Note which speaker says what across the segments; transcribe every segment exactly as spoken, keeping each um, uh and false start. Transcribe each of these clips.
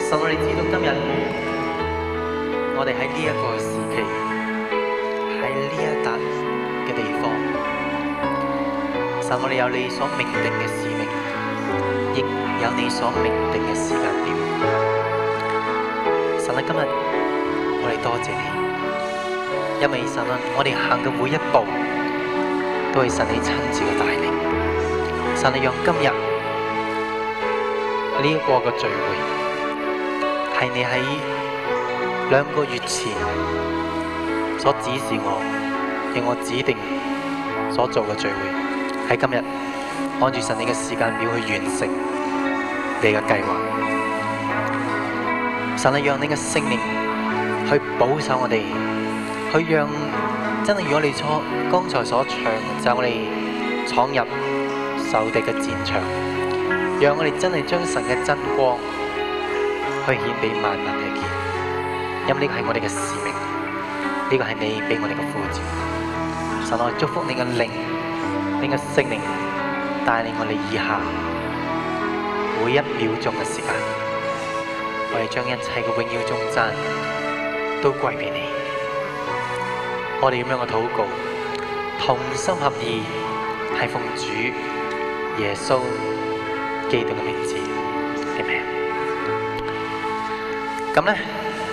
Speaker 1: 神，我哋知道今日我哋喺呢一個時期，喺呢一笪嘅地方，神，我哋有你所命定嘅使命，亦有你所命定嘅時間表。神啊，今日我哋多謝你，因為神啊，我哋行嘅每一步都係神你親自嘅帶領。神啊，讓今日呢一個嘅聚會係你喺兩個月前所指示我，讓我指定所做嘅聚會，喺今日按住神你嘅時間表去完成你嘅計劃。神啊，讓你嘅聖靈去保守我哋，去讓真係如果你所剛才所唱，就係我哋闖入仇敵嘅戰場，讓我哋真係將神嘅真光去顯俾萬民去見，因為呢個係我哋嘅使命，呢個係你俾我哋嘅呼召。神，我祝福你嘅靈，你嘅聖靈帶領我哋以下每一秒鐘嘅時間，我哋將一切嘅榮耀頌讚都歸俾你。我哋咁樣嘅禱告，同心合意，係奉主耶穌基督嘅名字，阿們。咁咧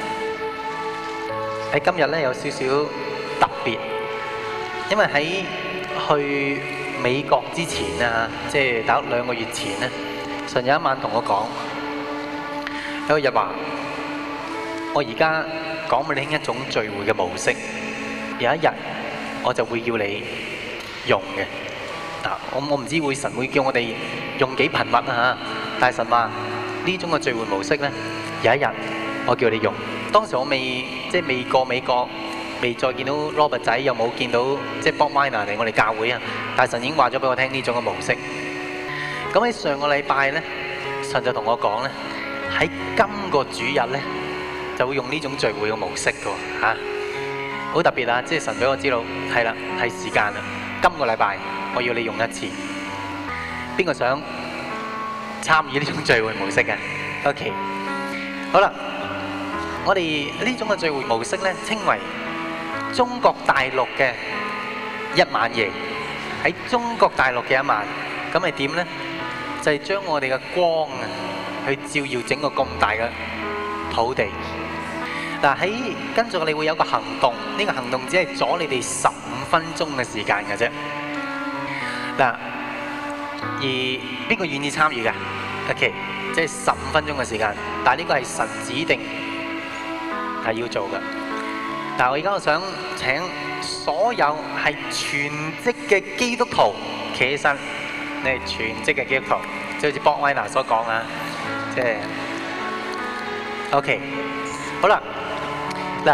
Speaker 1: 喺今日咧有少少特別，因為喺去美國之前啊，即係大概兩個月前咧，神有一晚同我講，有一日話我而家講俾你聽一種聚會嘅模式，有一日我就會叫你用嘅。嗱，我我唔知會神會叫我哋用幾頻密啊嚇，但係神話呢種嘅聚會模式咧，有一日我叫你用。當時我未即係未過美國，未再見到 Robert 仔，又冇見到即係 Bob Miner 嚟我哋教會啊。但係神已經話咗俾我聽呢種嘅模式。咁喺上個禮拜咧，神就同我講咧，喺今個主日咧就會用呢種聚會嘅模式嘅喎嚇，好特別啊！即係神俾我知道，係啦，係時間啦，今個禮拜。我要你用一次，邊個想參與呢種聚會模式嘅 ？OK， 好啦，我哋呢種嘅聚會模式咧，稱為中國大陸嘅一晚夜。喺中國大陸嘅一晚，咁係點咧？就係將我哋嘅光啊，去照耀整個咁大嘅土地。嗱，喺跟住我哋會有個行動，呢個行動只係阻你哋十五分鐘嘅時間嘅啫。嗱，而邊個願意參與嘅 ？OK， 即係十五分鐘嘅時間，但係呢個係神指定係要做嘅。嗱，我而家我想請所有係全職嘅基督徒企起身，你係全職嘅基督徒，即係好似 Bob Weiner 所講啊，即係 OK， 好啦，嗱，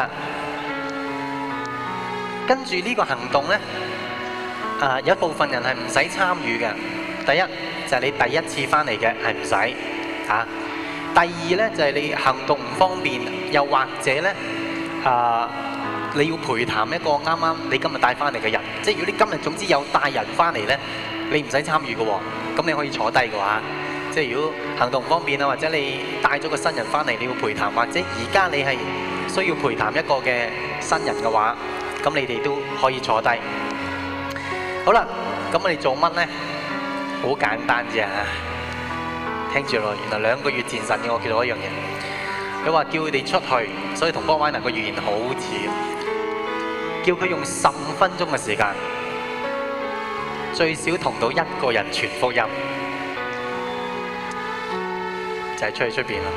Speaker 1: 跟住呢個行動咧。啊，有一部分人係唔使參與嘅。第一就係、是、你第一次翻嚟嘅係唔使嚇。第二咧就係、是、你行動唔方便，又或者咧啊，你要陪談一個啱啱你今日帶翻嚟嘅人。即係如果你今日總之有帶人翻嚟咧，你唔使參與嘅喎。咁你可以坐低嘅話，即係如果行動唔方便啊，或者你帶咗個新人翻嚟，你要陪談，或者而家你係需要陪談一個嘅新人嘅話，咁你哋都可以坐低。好啦，咁我哋做乜咧？好簡單啫嚇，聽住咯。原來兩個月前神嘅我叫到一樣嘢，佢話叫佢哋出去，所以同 Bob Weiner 個預言好似，叫佢用十五分鐘嘅時間，最少同到一個人傳福音，就係出去出邊啦。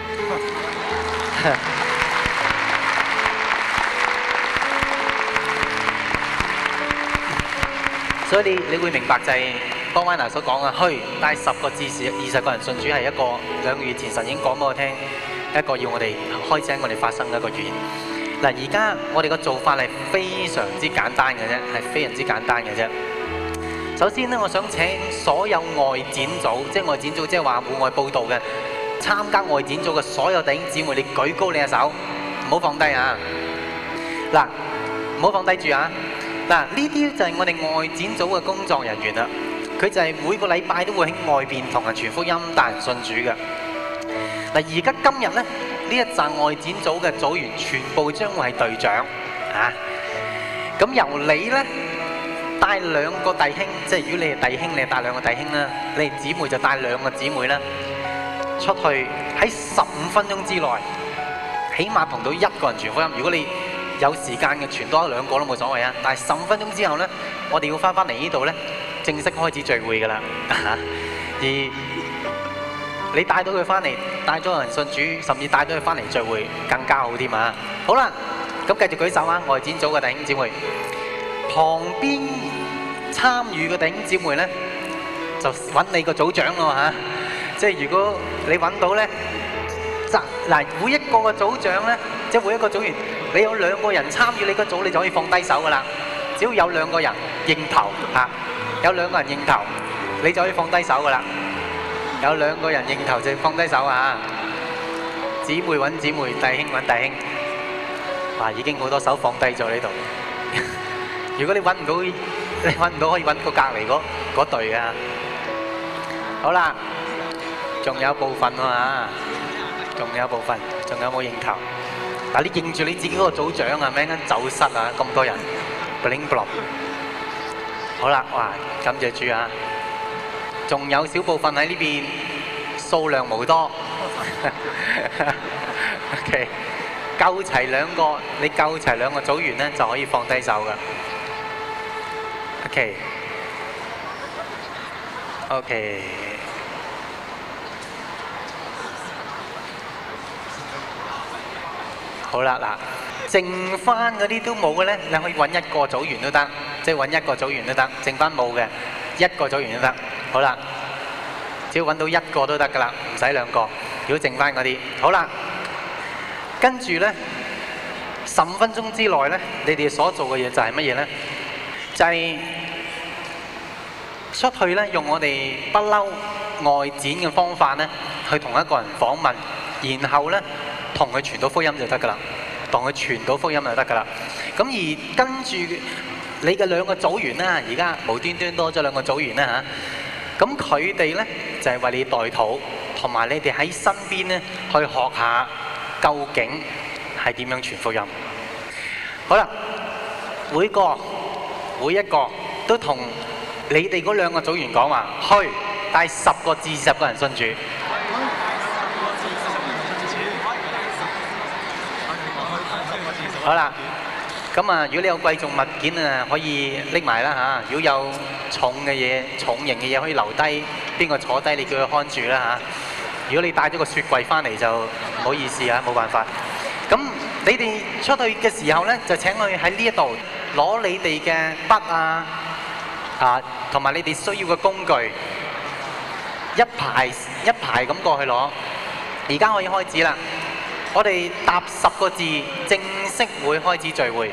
Speaker 1: 所以你你會明白就係 Bob Weiner 所講嘅，去帶十個至少二十個人信主係一個兩個月前神已經講俾我聽，一個要我哋開始喺我哋發生嘅一個預言。嗱，而家我哋嘅做法係非常之簡單嘅啫，係非常之簡單嘅啫。首先咧，我想請所有外展組，即係外展組，即係話戶外報道嘅，參加外展組嘅所有弟兄姊妹，你舉高你嘅手，唔好放低啊！嗱，唔好放低住啊！嗱，呢啲就係我哋外展組嘅工作人員啦。佢就係每個禮拜都會喺外邊同人傳福音、帶人信主嘅。 嗱，而家今日咧，呢一紮外展組嘅組員全部將會係隊長啊！咁由你咧帶兩個弟兄，即係如果你係弟兄，你係帶兩個弟兄啦；你係姊妹就帶兩個姊妹啦，出去喺十五分鐘之內，起碼同到一個人傳福音。如果你有時間嘅，傳多一兩個都冇所謂啊！但係十五分鐘之後咧，我哋要翻返嚟呢度咧，正式開始聚會㗎啦。而你帶到佢翻嚟，帶咗人信主，甚至帶咗佢翻嚟聚會，更加好添啊！好啦，咁繼續舉手啊！外展組嘅弟兄姊妹，旁邊參與嘅弟兄姊妹咧，就揾你個組長咯嚇。即係如果你揾到咧，嗱，每一個嘅組長咧，即係每一個組員，你有兩個人參與你個組，你就可以放低手噶啦。只要有兩個人認頭嚇，有兩個人認頭，你就可以放低手噶啦。有兩個人認頭就放低手啊！姊妹揾姊妹，弟兄揾弟兄。哇！已經好多手放低咗呢度。如果你揾唔到，你揾唔到可以揾個隔離嗰嗰隊啊。好啦，仲有部分啊，仲有部分，仲有冇認頭？嗱，你認住你自己嗰個組長啊，咩間走失啊，咁多人 bling blong。好啦，哇！感謝主啊！仲有少部分喺呢邊，數量無多。OK， 夠齊兩個，你夠齊兩個組員咧，就可以放低手噶。OK，OK， 好啦，嗱，剩翻嗰啲都冇嘅咧，你可以揾一個組員都得，即係揾一個組員都得，剩翻冇嘅一個組員都得。好啦，只要揾到一個都得噶啦，唔使兩個。如果剩翻嗰啲，好啦，跟住咧十五分鐘之內咧，你哋所做嘅嘢就係乜嘢咧？就係出去咧，用我哋不嬲外展嘅方法咧，去同一個人訪問，然後咧同佢傳到福音就得噶啦，同佢傳到福音就得噶啦。咁而跟住你嘅兩個組員啦，而家無端端多咗兩個組員啦嚇，咁佢哋咧就係為你代禱，同埋你哋喺身邊咧去學下究竟係點樣傳福音。好啦，每個每一個都同你哋嗰兩個組員講話，去帶十個至二十個人信主。好啦。咁啊，如果你有貴重物件啊，可以拎埋啦嚇。如果有重嘅嘢、重型嘅嘢，可以留低，邊個坐低，你叫佢看住啦嚇。如果你帶咗個雪櫃翻嚟，就唔好意思啊，冇辦法。咁你哋出去嘅時候咧，就請佢喺呢一度攞你哋嘅筆啊，啊，同埋你哋需要嘅工具，一排一排咁過去攞。而家可以開始啦。我哋答十個字，正式會開始聚會。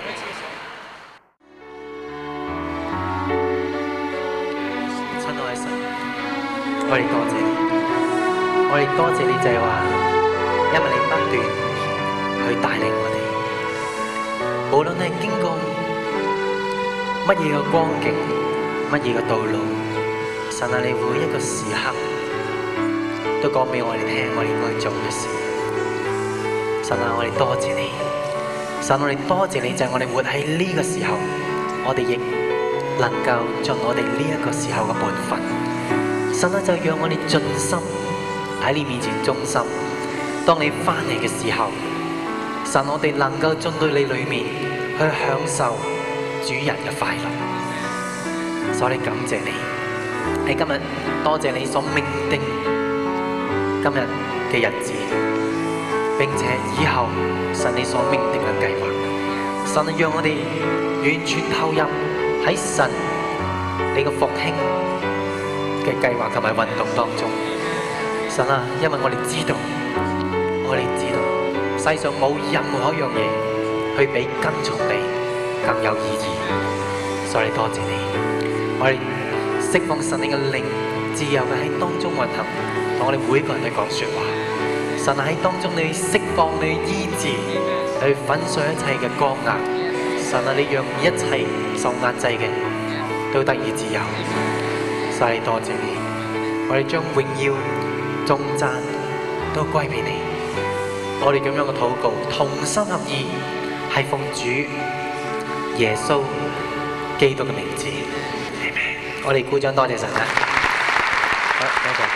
Speaker 1: 親愛嘅神，我哋多謝你，我哋多謝你就係話，因為你不斷去帶領我哋，無論係經過乜嘢嘅光景、乜嘢嘅道路，神啊，你每一個時刻都講俾我哋聽，我哋應該做嘅事。神啊，我哋多謝你，神，我哋多謝你，就係我哋活喺呢個時候，我哋亦能夠盡我哋呢一個時候嘅本分。神啊，就讓我哋盡心喺你面前忠心。當你翻嚟嘅時候，神，我哋能夠進到你裏面去享受主人嘅快樂。所以我哋感謝你喺今日，多謝你所命定今日嘅日子。並且以後神你所命定嘅計劃，神啊，讓我哋完全投入喺神你嘅復興嘅計劃同埋運動當中。神啊，因為我哋知道，我哋知道世上冇任何一樣嘢去比跟從你更有意義。所以多謝你，我哋釋放神你嘅靈自由嘅喺當中運行，同我哋每個人去講說話。神喺當中，你釋放你醫治，去粉碎一切嘅剛硬。神啊，你讓一切受壓制嘅都得以自由。所以多謝你，我哋將榮耀、頌讚都歸俾你。我哋咁樣嘅禱告，同心合意，係奉主耶穌基督嘅名字。我哋鼓掌，多謝神啊！好，多謝。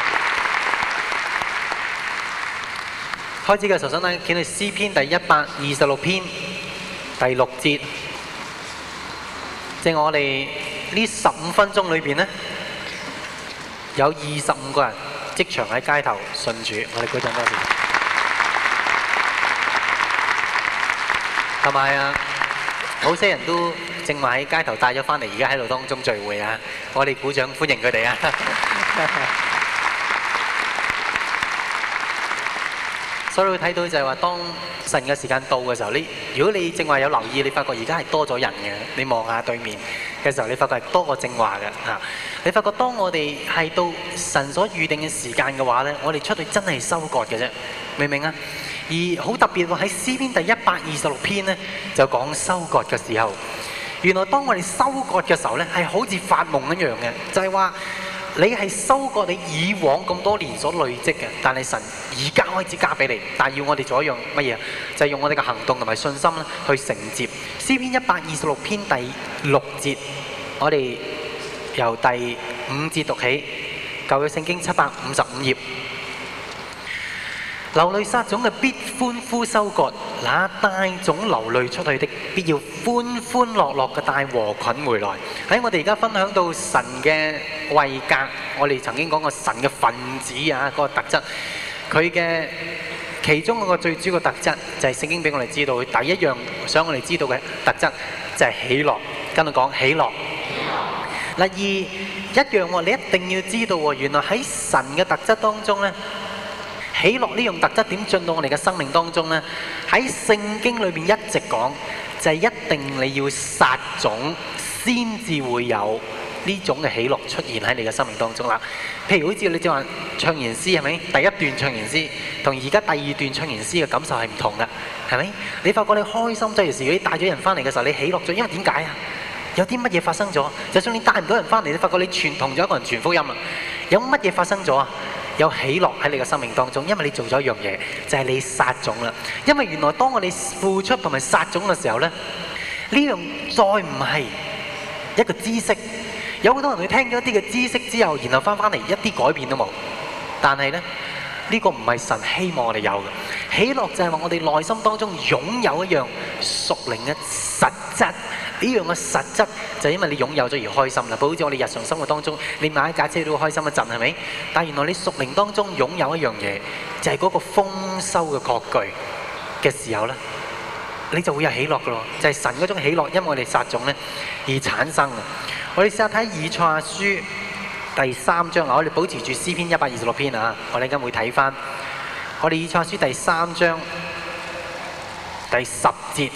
Speaker 1: 開始嘅時候，想睇見到詩篇第一百二十六篇第六節，即係我哋呢十五分鐘裏邊呢，有二十五個人即場喺街頭信主。我哋鼓掌，多謝。同埋啊，好些人都正話喺街頭帶咗翻嚟，而家喺度當中聚會啊！我哋鼓掌歡迎佢哋啊！所以會睇到就係話，當神嘅時間到嘅時候，你如果你正話有留意，你發覺而家係多咗人嘅。你望下對面嘅時候，你發覺係多過正話嘅嚇。你發覺當我哋係到神所預定嘅時間嘅話咧，我哋出去真係收割嘅啫，明唔明啊？而好特別喎，喺詩篇第一百二十六篇咧，就講收割嘅時候。原來當我哋收割嘅時候咧，係好似發夢一樣嘅，就係話你係收割你以往咁多年所累積嘅，但係神而家開始加俾你，但係要我哋做一樣乜嘢？就係用我哋嘅行動同埋信心咧去承接。詩篇一百二十六篇第六節，我哋由第五節讀起，舊約聖經七百五十五頁。流淚撒種嘅必歡呼收割，那帶種流淚出去的，必要歡歡樂樂嘅帶禾捆回來。喺我哋而家分享到神嘅位格，我哋曾經講過神嘅分子啊，嗰個特質，佢嘅其中嗰個最主要嘅特質就係聖經俾我哋知道，第一樣想我哋知道嘅特質就係喜樂。跟我講喜樂。嗱，而一樣喎，你一定要知道喎，原來喺神嘅特質當中咧。喜樂呢樣特質點進到我哋嘅生命當中呢？喺聖經裏面一直講，就係一定你要撒種先至會有呢種嘅喜樂出現喺你嘅生命當中啦。譬如好似你正話唱完詩係咪？第一段唱完詩同而家第二段唱完詩嘅感受係唔同嘅，係咪？你發覺你開心即係時，如果你帶咗人翻嚟嘅時候，你喜樂咗，因為點解啊？有啲乜嘢發生咗？就算你帶唔到人翻嚟，你發覺你傳同咗一個人傳福音啦，有乜嘢發生咗啊？有喜樂喺你嘅生命當中，因為你做咗一樣嘢，就係你撒種啦。因為原來當我哋付出同埋撒種嘅時候咧，呢樣再唔係一個知識。有好多人佢聽咗一啲嘅知識之後，然後翻返嚟一啲改變都冇。但係咧，呢個唔係神希望我哋有嘅。喜樂就係話我哋內心當中擁有一樣屬靈嘅實質。呢樣嘅實質就係因為你擁有咗而開心啦。好似我哋日常生活當中，你買一架車都會開心一陣，係咪？但係原來你屬靈當中擁有一樣嘢，就係嗰個豐收嘅確據嘅時候咧，你就會有喜樂㗎咯。就係神嗰種喜樂，因為我哋撒種咧而產生嘅。我哋試下睇以賽亞書第三章啊，我哋保持住詩篇一百二十六篇啊，我哋而家會睇翻我哋以賽亞書第三章第十節。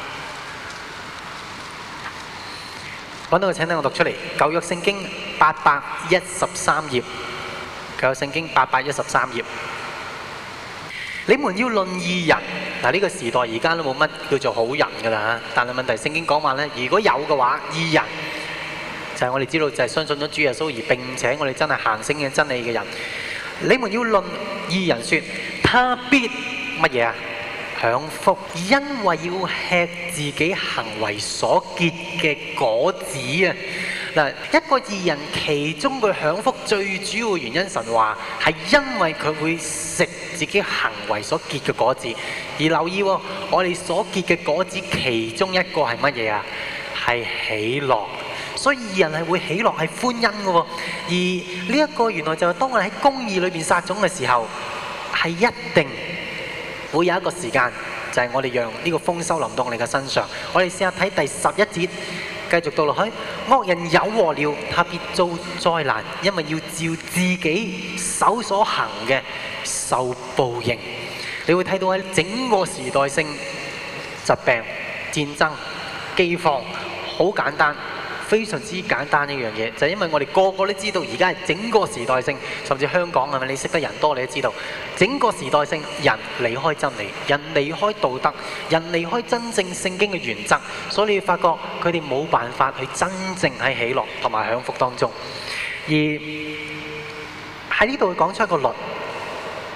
Speaker 1: 揾到個請聽我讀出嚟，舊約聖經八百一十三頁，舊約聖經八百一十三頁。你們要論義人，嗱，呢個時代而家都冇乜叫做好人㗎啦，但係問題聖經講話咧，如果有嘅話，義人就係我哋知道就係相信咗主耶穌而並且我哋真係行聖嘅真理嘅人。你們要論義人說，他必乜嘢啊？享福，因為要吃自己行為所結嘅果子啊！嗱，一個義人其中佢享福最主要嘅原因，神話係因為佢會食自己行為所結嘅果子。而留意喎，我哋所結嘅果子其中一個係乜嘢啊？係喜樂。所以義人係會喜樂係歡欣嘅喎。而呢一個原來就係當我哋喺公義裏邊撒種嘅時候，係一定會有一個時間，就係我哋讓呢個豐收臨到我哋嘅身上。我哋試下睇第十一節，繼續到落去。惡人有禍了，他必遭災難，因為要照自己手所行嘅受報應。你會睇到喺整個時代性疾病、戰爭、饑荒，好簡單。非常之簡單一樣嘢，就係因為我哋個個都知道，而家係整個時代性，甚至香港係咪？你識得人多，你都知道，整個時代性人離開真理，人離開道德，人離開真正聖經嘅原則，所以你會發覺佢哋冇辦法去真正喺喜樂同埋享福當中。而喺呢度會講出一個律，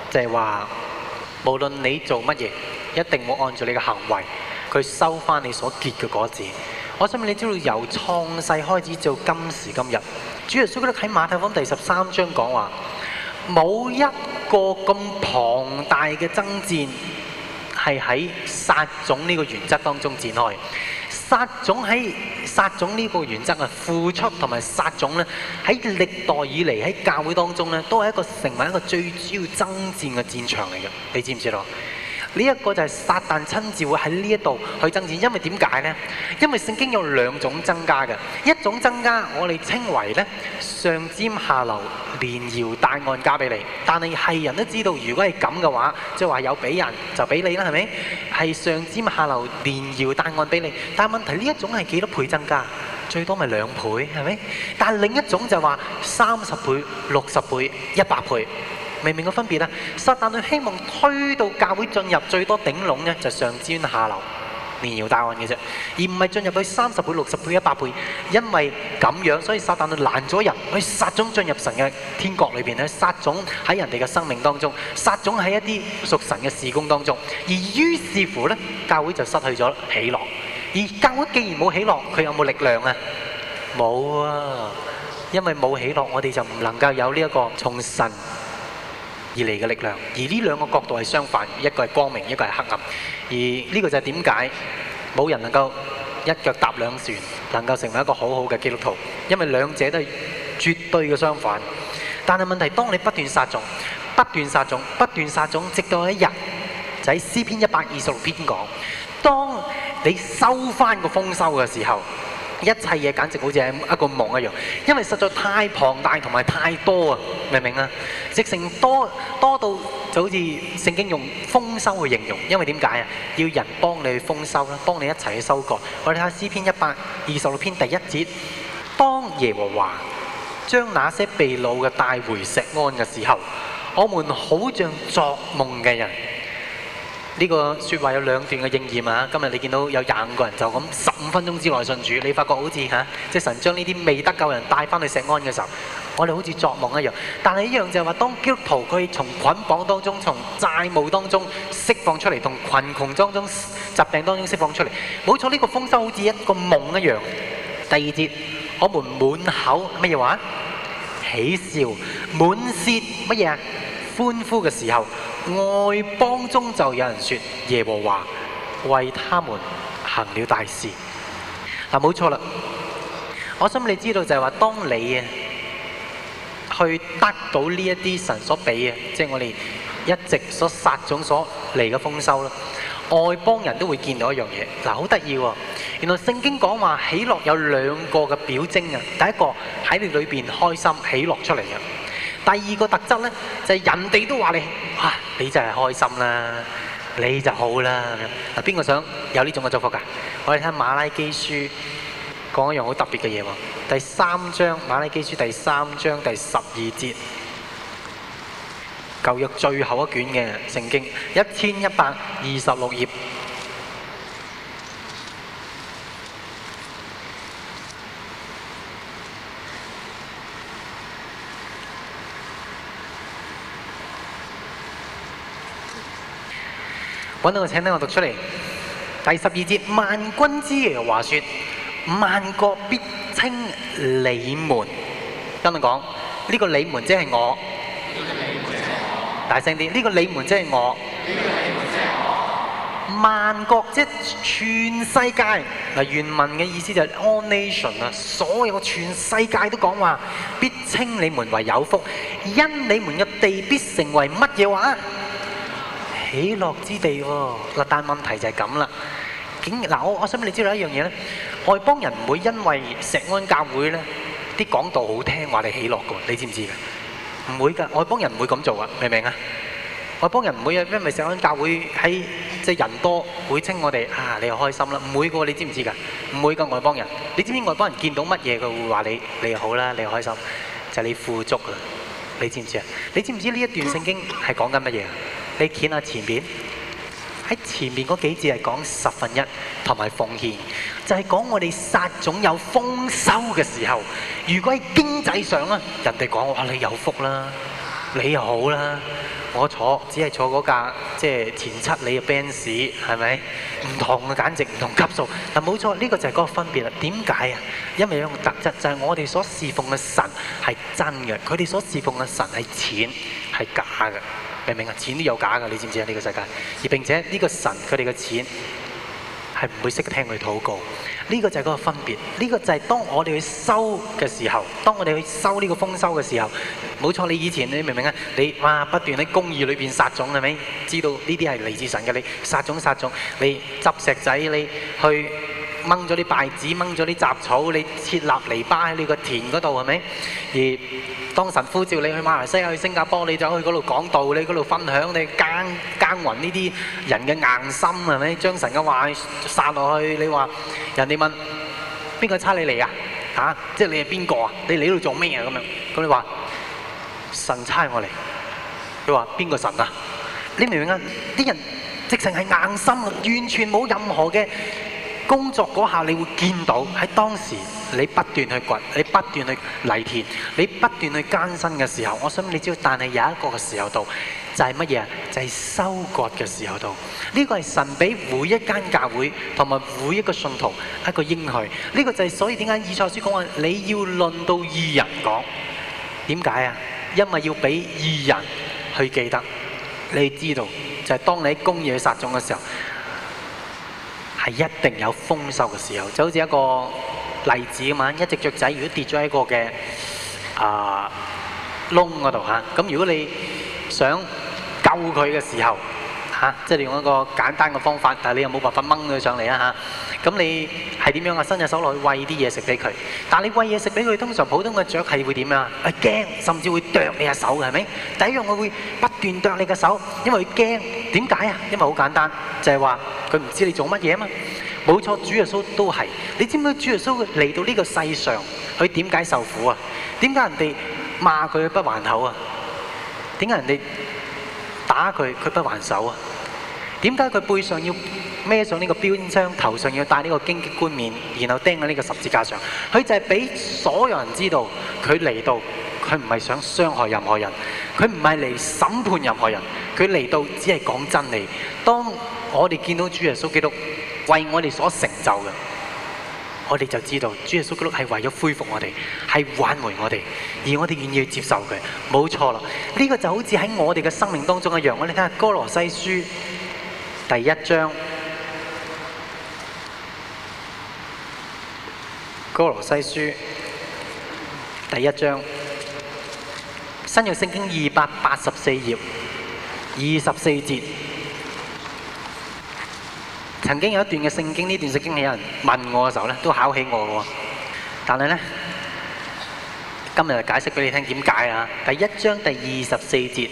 Speaker 1: 就係話無論你做乜嘢，一定會按照你嘅行為，佢收翻你所結嘅果子。我想問你知道由創世開始到今時今日，主耶穌基督喺馬太福音第十三章講話，冇一個咁龐大嘅爭戰係喺撒種呢個原則當中展開。撒種喺撒種呢個原則啊，付出同埋撒種咧，喺歷代以嚟喺教會當中咧，都係一個成為一個最主要爭戰嘅戰場嚟嘅。你知唔知道？呢一個就係撒旦親自會喺呢一度去爭戰，因為點解呢？因為聖經有兩種增加嘅，一種增加我哋稱為咧上尖下流連搖帶按加俾你，但係係人都知道，如果係咁嘅話，即係話有俾人就俾你啦，係咪？係上尖下流連搖帶按俾你，但係問題呢一種係幾多倍增加？最多咪兩倍，係咪？但係另一種就話三十倍、六十倍、一百倍。明唔明個分別啊？撒旦佢希望推到教會進入最多頂籠呢，就上尖下流連搖帶按嘅啫，而唔係進入去三十倍、六十倍、一百倍。因為咁樣，所以撒旦佢攔咗人去撒種進入神嘅天國裏邊咧，撒種喺人哋嘅生命當中，撒種喺一啲屬神嘅事工當中。而於是乎呢，教會就失去咗喜樂。而教會既然冇喜樂，佢有冇力量啊？冇啊！因為冇喜樂，我哋就唔能夠有呢一個從神而嚟嘅力量，而呢兩個角度係相反，一個係光明，一個係黑暗。而呢個就係點解冇人能夠一腳踏兩船，能夠成為一個好好嘅基督徒，因為兩者都係絕對嘅相反。但係問題，當你不斷撒種、不斷撒種、不斷撒種，直到一日就喺詩篇一百二十六篇講，當你收翻個豐收嘅時候，一切嘢簡直好似係一個夢一樣，因為實在太龐大同埋太多啊！明唔明啊？直成多多到就好似聖經用豐收去形容，因為點解啊？要人幫你去豐收啦，幫你一齊去收割。我哋睇下詩篇一百二十六篇第一節，當耶和華將那些被擄嘅帶回錫安嘅時候，我們好像作夢嘅人。呢個説話有兩段嘅應驗啊！今日你見到有廿五個人就咁十五分鐘之內信主，你發覺好似嚇，即係神將呢啲未得救人帶翻去錫安嘅時候，我哋好似作夢一樣。但係一樣就係話，當基督徒佢從捆綁當中、從債務當中釋放出嚟，同貧窮當中、疾病當中釋放出嚟，冇錯，呢個豐收好似一個夢一樣。第二節，我們滿口乜嘢話？喜笑，滿舌乜嘢啊？歡呼嘅時候，外邦中就有人說耶和華為他們行了大事。嗱，冇錯啦，我想你知道就係話，當你啊去得到呢一啲神所俾嘅，即係我哋一直所撒種所嚟嘅豐收啦，外邦人都會見到一樣嘢。嗱，好得意喎！原來聖經講話喜樂有兩個嘅表徵啊，第一個喺你裏邊開心喜樂出嚟嘅。第二個特質呢，就係、是、人哋都話你，哇！你就係開心啦，你就好啦。嗱，邊個想有呢種嘅祝福㗎？我哋睇馬拉基書講一樣好特別嘅嘢喎。第三章馬拉基書第三章第十二節，舊約最後一卷嘅聖經，一千一百二十六頁。揾到個，請聽我讀出嚟。第十二節，萬軍之耶和華說：萬國必稱你們。跟住講，呢個你們即係我。大聲啲，呢個你們即係我。萬國即係全世界。嗱，原文嘅意思就係 all nation 啊，所有全世界都講話，必稱你們為有福，因你們嘅地必成為乜嘢話？喜樂之地喎。嗱，但問題就係咁啦。竟嗱，我我想你知道一樣嘢咧，外邦人唔會因為錫安教會咧啲講道好聽話你喜樂嘅，你知唔知嘅？唔會㗎，外邦人唔會咁做啊，明唔明啊？外邦人唔會因為錫安教會喺即係人多會稱我哋啊，你又開心啦，唔會㗎，你知唔知㗎？唔會㗎，外邦人。你知唔知外邦人見到乜嘢佢會話你你又好啦，你又開心，就係你富足啊！你知唔知啊？你知唔知呢一段聖經係講緊乜嘢？你睇下前邊，喺前面嗰幾字係講十分一同埋奉獻，就係講我哋撒種有豐收嘅時候，如果喺經濟上啊，人哋講哇你有福啦， 你又好啦，我坐只係坐嗰架即係前七你嘅 Benz 係咪？唔同嘅，簡直唔同級數。但冇錯，呢個就係嗰個分別啦。點解啊？因為有個特質就係我哋所侍奉嘅神係真嘅，佢哋所侍奉嘅神係錢係假嘅，明唔明啊？錢都有假嘅，你知唔知啊？呢個世界，而並且呢個神佢哋嘅錢係唔會識聽佢禱告。呢個就係嗰個分別，呢個就係當我哋去收嘅時候，當我哋去收呢個豐收嘅時候，冇錯，你以前你明唔明啊？你哇不斷喺公義裏邊撒種係咪？知道呢啲係嚟自神嘅，你撒種撒種，你執石仔，你去掹咗啲稗子，掹咗啲雜草，你設立籬笆喺你個田嗰度係咪？而當神呼召你去馬來西亞、去新加坡，你就去嗰度講道，你嗰度分享，你耕耕耘呢啲人嘅硬心係咪？將神嘅話撒落去，你話人哋問邊個差你嚟啊？嚇，即係你係邊個啊？你嚟呢度做咩啊？咁樣，咁你話神差我嚟。佢話邊個神啊？你明唔明啊？啲人直情係硬心，完全冇任何嘅工作嗰下，你會見到喺當時你不斷去掘，你不斷去犁田，你不斷去艱辛嘅時候，我想你知道，但係有一個嘅時候到，就係乜嘢啊？就係收割嘅時候到。呢個係神俾每一間教會同埋每一個信徒一個應許。呢個就係所以點解以賽書講話你要論到義人講？點解啊？因為要俾義人去記得，你知道就係當你喺公義去撒種嘅時候，係一定有豐收嘅時候。就好似一個例子咁嘛，一隻雀仔如果跌咗喺個嘅啊窿嗰度嚇，咁如果你想救佢嘅時候嚇，即係你用一個簡單嘅方法，但係你又冇辦法掹佢上嚟啊嚇，咁你係點樣啊？伸隻手落去餵啲嘢食俾佢，但係你餵嘢食俾佢，通常普通嘅雀係會點啊？係驚，甚至會啄你隻手嘅，係咪？第一樣佢會不斷啄你嘅手，因為佢驚。點解啊？因為好簡單，就係話佢唔知你做乜嘢啊嘛。冇錯，主耶穌都係。你知唔知主耶穌嚟到呢個世上，佢點解受苦啊？點解人哋罵佢不還口啊？點解人哋打佢佢不還手啊？點解佢背上要孭上呢個標槍，頭上要戴呢個荊棘冠冕，然後釘喺呢個十字架上？佢就係俾所有人知道，佢嚟到，佢唔係想傷害任何人，佢唔係嚟審判任何人，佢嚟到只係講真理。當我哋見到主耶穌基督為我哋所成就嘅，我哋就知道主耶穌基督係為咗恢復我哋，係挽回我哋，而我哋願意去接受佢。冇錯啦，呢個就好似喺我哋嘅生命當中一樣。我哋睇下哥羅西書第一章，哥羅西書第一章，新約聖經二百八十四頁二十四節。曾經有一段嘅聖經，呢段聖經有人問我嘅時候咧，都考起我嘅喎。但係咧，今日就解釋俾你聽點解啊！第一章第二十四節，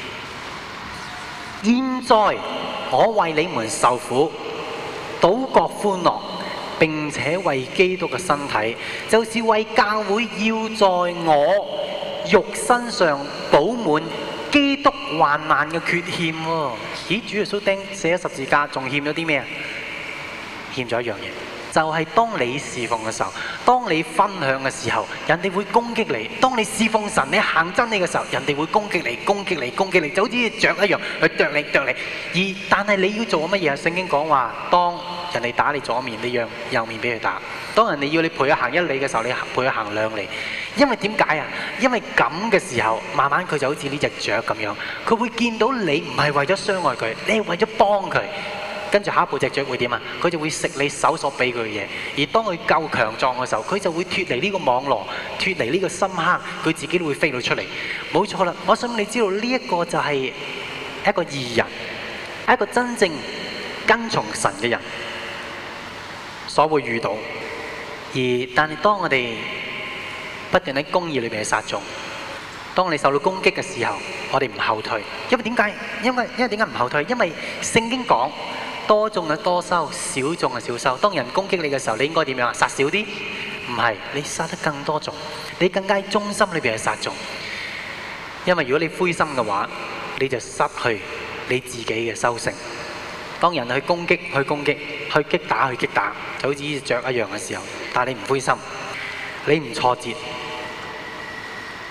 Speaker 1: 現在我為你們受苦，倒覺歡樂，並且為基督嘅身體，就是為教會，要在我肉身上補滿基督患難嘅缺欠喎。咦，主耶穌釘死咗十字架，仲欠咗啲咩啊？欠咗一樣嘢，就係當你侍奉嘅時候，當你分享嘅時候，人哋會攻擊你；當你侍奉神，你行真理嘅時候，人哋會攻擊你、攻擊你、攻擊你，就好似雀一樣去啄你、啄你。而但係你要做乜嘢啊？聖經講話，當人哋打你左面，你讓右面俾佢打；當人哋要你陪佢行一里嘅時候，你陪佢行兩里。因為點解啊？因為咁嘅時候，慢慢佢就好似呢隻雀咁樣，佢會見到你唔係為咗傷害佢，你係為咗幫佢。跟住下一步隻雀會點啊？佢就會食你手所俾佢嘅嘢。而當佢夠強壯嘅時候，佢就會脫離呢個網羅，脫離呢個深坑，佢自己都會飛到出嚟。冇錯啦，我想你知道呢一個就係一個義人，一個真正跟從神嘅人所會遇到。而但係當我哋不斷喺公義裏面去撒種，當你受到攻擊嘅時候，我哋唔後退。因為點解？因為因為點解唔後退？因為聖經講多種係多收，少種係少收。當人攻擊你嘅時候，你應該點樣啊？撒少啲？唔係，你撒得更多種，你更加喺中心裏邊去撒種。因為如果你灰心嘅話，你就失去你自己嘅收成。當人去攻擊、去攻擊、去擊打、去擊打，就好似呢隻雀一樣嘅時候，但係你唔灰心，你唔挫折，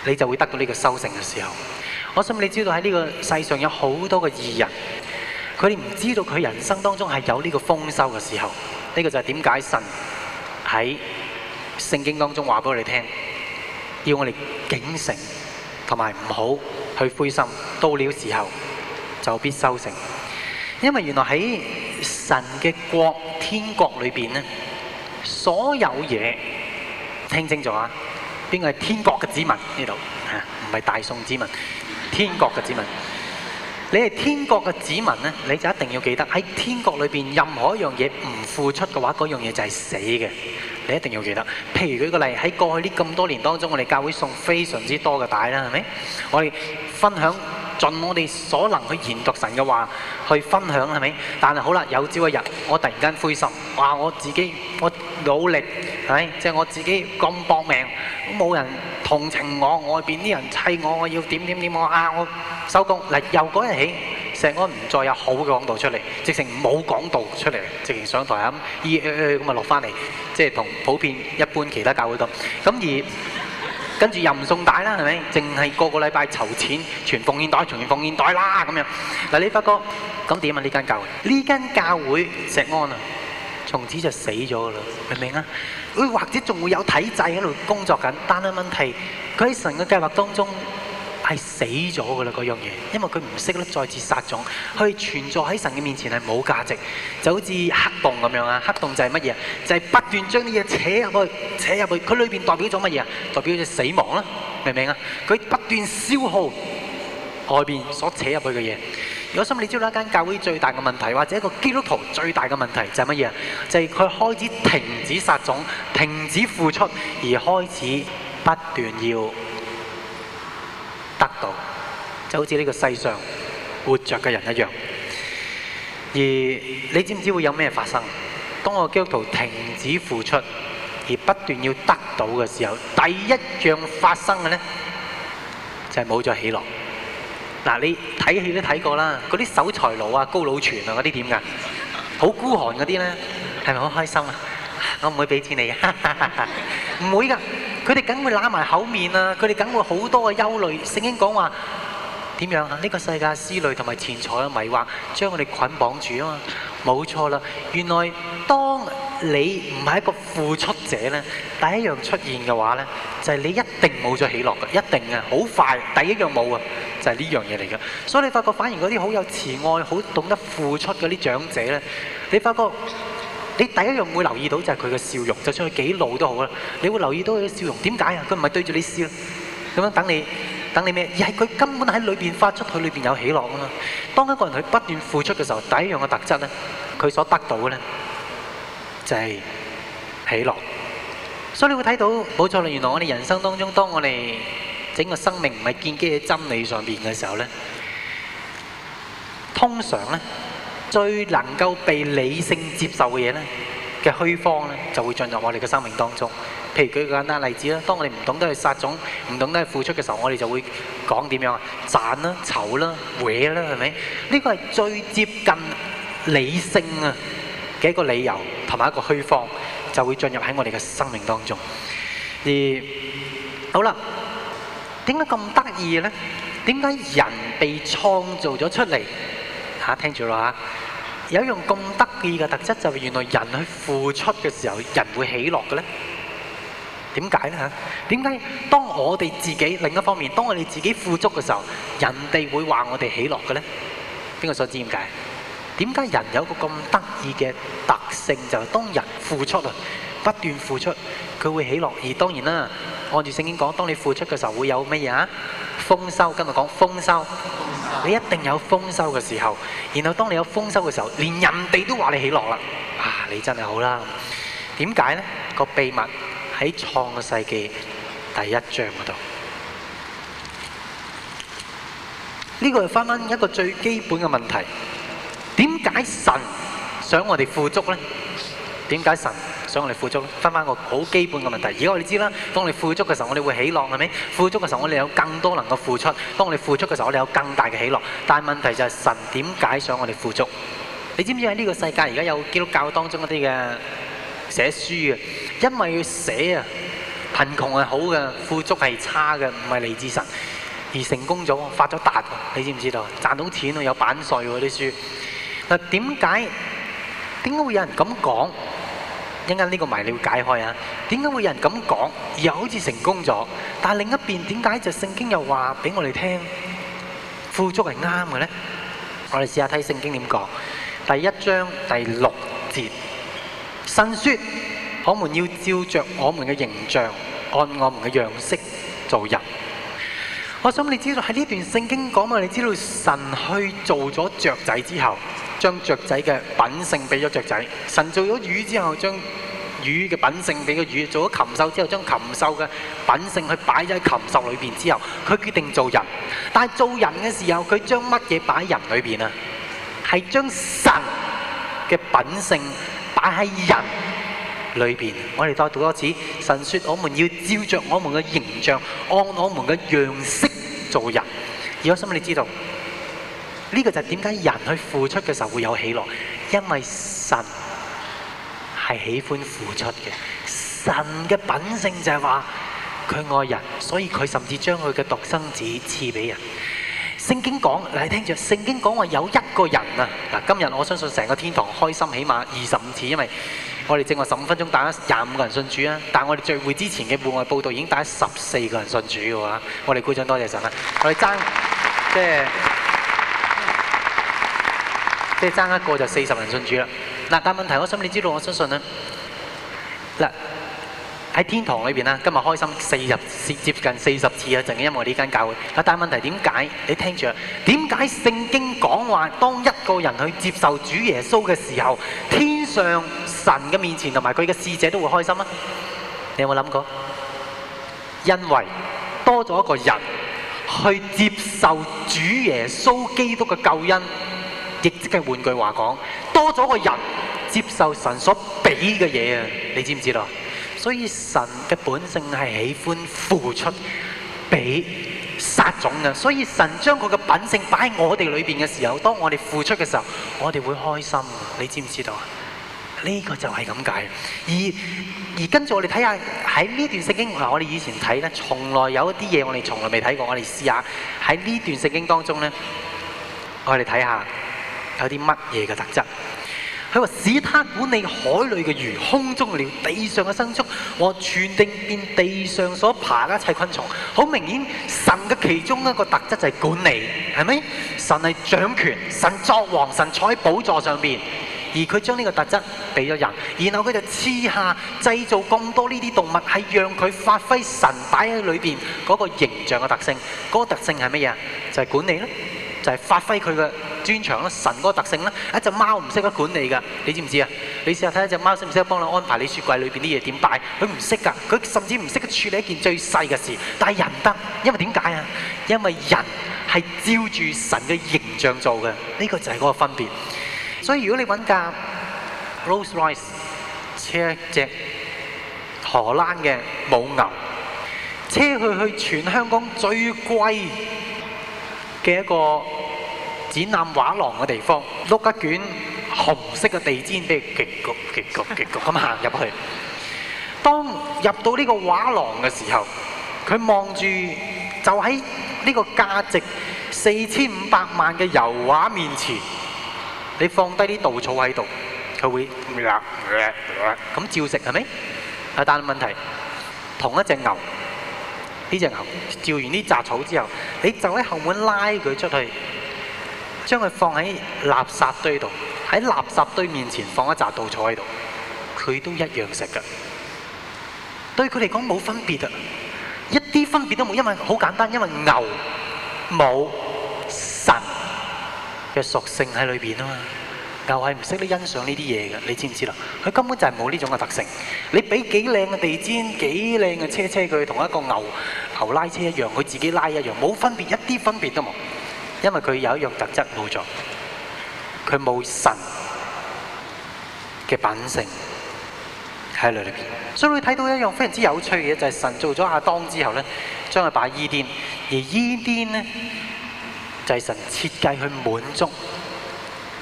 Speaker 1: 你就會得到呢個收成嘅時候。我想你知道喺呢個世上有好多個義人，佢哋唔知道佢人生當中係有呢個豐收嘅時候。呢個就係點解神喺聖經當中話俾我哋聽，要我哋警醒同埋唔好去灰心，到了時候就必收成。因為原來喺神嘅國天國裏邊呢，所有嘢聽清楚啊！邊個係天國嘅子民呢度？嚇，唔係大宋子民，天國嘅子民。你係天國嘅子民呢，你就一定要記得喺天國裏邊，任何一樣嘢唔付出嘅話，嗰樣嘢就係死嘅。你一定要記得。譬如舉個例，喺過去呢咁多年當中，我哋教會送非常之多嘅帶啦，係咪？我哋分享盡我哋所能去研讀神嘅話，去分享係咪？但係好啦，有朝一日我突然間灰心，話我自己我努力係咪？即係我自己咁搏命，冇人同情我，外邊啲人砌我，我要點點點，我啊我收工嗱，由嗰日起，石安唔再有好嘅講道出嚟，直情冇講道出嚟，直情上台咁，咦咁啊落翻嚟，即係同普遍一般其他教會咁。咁而跟住又唔送帶啦，係咪？淨係個個禮拜籌錢，傳奉獻袋，傳奉獻袋啦咁樣。嗱，你發覺咁點啊？呢間教會，呢間教會石安啊，從此就死咗噶啦，明唔明啊？佢或者仲會有體制喺度工作緊，但係問題佢喺神嘅計劃當中係死咗噶啦嗰樣嘢，因為佢唔識得再次撒種，佢存在喺神嘅面前係冇價值，就好似黑洞咁樣啊！黑洞就係乜嘢？就係不斷將啲嘢扯入去，扯入去，佢裏邊代表咗乜嘢啊？代表咗死亡啦，明唔明啊？佢不斷消耗外邊所扯入去嘅嘢。如果心你知道一間教會最大嘅問題，或者一個基督徒最大嘅問題就係乜嘢啊？就係佢開始停止撒種，停止付出，而開始不斷要得到，就好似呢個世上活着嘅人一樣。而你知唔知會有咩發生？當個基督徒停止付出而不斷要得到嘅時候，第一樣發生嘅呢，就係冇咗喜樂。嗱，你睇戲都睇過啦，嗰啲守財奴啊、高佬全啊嗰啲點㗎？好孤寒嗰啲呢，係咪好開心啊？我唔會俾錢你嘅，唔會㗎。佢哋梗會揦埋口面啊！佢哋梗會好多嘅憂慮。聖經講話點樣啊？呢個世界思慮同埋錢財嘅迷惑，將我哋捆綁住啊嘛！冇錯啦，原來當你唔係一個付出者呢，第一樣出現嘅話呢，就係你一定冇咗喜樂嘅，一定啊，好快，第一樣冇啊，就係呢樣嘢嚟嘅。所以你發覺反而嗰啲好有慈愛、好懂得付出嗰啲長者呢，你發覺。你第一樣會留意到就係佢嘅笑容，就算佢幾老都好啦，你會留意到佢嘅笑容。點解啊？佢唔係對住你笑，咁樣等你等你咩？而係佢根本喺裏邊發出，佢裏邊有喜樂啊嘛。當一個人佢不斷付出嘅時候，第一樣嘅特質咧，佢所得到嘅咧就係喜樂。所以你會睇到冇錯啦。原來我哋人生當中，當我哋整個生命唔係建基喺真理上邊嘅時候咧，通常咧。最能夠被理性接受嘅嘢咧嘅虛方咧，就會進入我哋嘅生命當中。譬如舉個簡單例子啦，當我哋唔懂得去撒種、唔懂得去付出嘅時候，我哋就會講點樣啊？賺啦、籌啦、搲啦，係咪？呢個係最接近理性啊嘅一個理由，同埋一個虛方，就會進入喺我哋嘅生命當中。而好啦，點解咁得意嘅咧？點解人被創造咗出嚟？嚇，聽住啦嚇！有一樣咁得意嘅特質，就係原來人去付出嘅時候，人會喜樂嘅咧。點解咧嚇？點解當我哋自己另一方面，當我哋自己富足嘅時候，人哋會話我哋喜樂嘅咧？邊個所知點解？點解人有個咁得意嘅特性，就係當人付出啊，不斷付出，佢會喜樂。而當然啦，按住聖經講，當你付出嘅時候會有乜嘢啊？豐收。今日講豐收。你一定有豐收嘅時候，然後當你有豐收嘅時候，連人哋都話你喜樂啦。啊，你真係好啦。點解呢？個秘密喺創世記第一章嗰度。呢個係翻翻一個最基本嘅問題。點解神想我哋富足呢？點解神想我哋富足？翻翻個好基本嘅問題。而家我哋知啦，當你富足嘅時候，我哋會喜樂，係咪？富足嘅時候，我哋有更多能夠付出。當我哋付出嘅時候，我哋有更大嘅喜樂。但係問題就係神點解想我哋富足？你知唔知喺呢個世界而家有基督教當中嗰啲嘅寫書啊？因為要寫啊， 貧窮係好嘅，富足係差嘅，唔係嚟自神。而成功咗，發咗達喎，你知唔知道？賺到錢喎，有版稅喎啲書。嗱，點解點解會有人咁講？一陣間呢個謎你會解開啊！點解會有人咁講，而又好似成功咗？但係另一邊點解就聖經又話俾我哋聽，富足係啱嘅咧？我哋試下睇聖經點講。第一章第六節，神說：我們要照着我們嘅形象，按我們嘅樣式做人。我想你知道喺呢段聖經講，我哋知道神去做咗雀仔之後，將雀仔嘅品性俾咗雀仔；神做咗魚之後，將魚嘅品性俾個魚；做咗禽獸之後，將禽獸嘅品性去擺咗喺禽獸裏邊之後，佢決定做人。但係做人嘅時候，佢將乜嘢擺喺人裏邊啊？係將神嘅品性擺喺人裏邊。我哋再讀多次，神說：我們要照着我們嘅形象，按我們嘅樣式做人。而我想你知道，呢個就係點解人去付出嘅時候會有喜樂，因為神係喜歡付出嘅。神嘅品性就係話佢愛人，所以佢甚至將佢嘅獨生子賜俾人。聖經講，你聽住，聖經講話有一個人啊，嗱，今日我相信成個天堂開心起碼二十五次，因為我哋正話十五分鐘帶咗廿五個人信主啊，但係我哋聚會之前嘅戶外報道已經帶咗十四個人信主嘅喎，我哋鼓掌多謝神啦！我哋爭即係即係爭一個就四十人信主啦。嗱，但係問題我想你知道，我相信咧，嗱喺天堂裏邊啦，今日開心四十接近四十次啊，淨係因為我呢間教會。嗱，但係問題點解？你聽住啊，點解聖經講話當一個人去接受主耶穌嘅時候，天上神嘅面前同埋佢嘅使者都會開心啊？你有冇諗過？因為多咗一個人去接受主耶穌基督嘅救恩，亦即係換句話講，多咗個人接受神所俾嘅嘢啊！你知唔知道？所以神嘅本性係喜歡付出俾撒種嘅，所以神將佢嘅品性擺喺我哋裏邊嘅時候，當我哋付出嘅時候，我哋會開心。你知唔知道啊？呢個就係咁解。而而跟住我哋睇下喺呢段聖經，嗱，我哋以前睇咧，從來有一啲嘢我哋從來未睇過，我哋試下喺呢段聖經當中咧，我哋睇下有啲乜嘢嘅特質。佢話使他管理海裏嘅魚、空中嘅鳥、地上嘅牲畜和全地遍地上所爬嘅一切昆蟲。好明顯，神嘅其中一個特質就係管理，係咪？神係掌權，神作王，神坐喺寶座上邊，而佢將呢個特質俾咗人，然後佢就賜下製造咁多呢啲動物，係讓佢發揮神擺喺裏邊嗰個形象嘅特性。嗰、那個特性係乜嘢？就係、是、管理咯，就係、是、發揮佢嘅專長咯，神嗰個特性啦。一隻貓唔識得管理㗎，你知唔知啊？你試下睇一隻貓識唔識得幫你安排你雪櫃裏邊啲嘢點擺？佢唔識㗎，佢甚至唔識得處理一件最細嘅事。但係人得，因為點解啊？因為人係照住神嘅形象做嘅，呢、這個就係嗰個分別。所以如果你揾架 Rolls Royce 車隻荷蘭嘅母牛，車佢去全香港最貴嘅一個展覽畫廊嘅地方，碌一卷紅色嘅地氈俾佢極焗極焗極焗咁行入去。當入到呢個畫廊嘅時候，佢望住就喺呢個價值四千五百萬嘅油畫面前，你放低啲稻草喺度，佢會咁照食係咪？啊，但係問題同一隻牛，呢隻牛照完啲雜草之後，你就喺後門拉佢出去，將佢放喺垃圾堆度，喺垃圾堆面前放一紮稻草喺度，佢都一樣食㗎。對佢嚟講冇分別啊，一啲分別都冇，因為好簡單，因為牛冇神嘅屬性喺裏邊啊嘛。牛係唔識得欣賞呢啲嘢嘅，你知唔知啦？佢根本就係冇呢種嘅特性。你俾幾靚嘅地氈、幾靚嘅車車佢，同一個牛牛拉車一樣，佢自己拉一樣，冇分別，一啲分別都冇。因為佢有一樣特質冇咗，佢冇神嘅品性喺裏邊。所以你睇到一樣非常之有趣嘅嘢，就係神做咗亞當之後咧，將佢擺伊甸，而伊甸咧就係神設計去滿足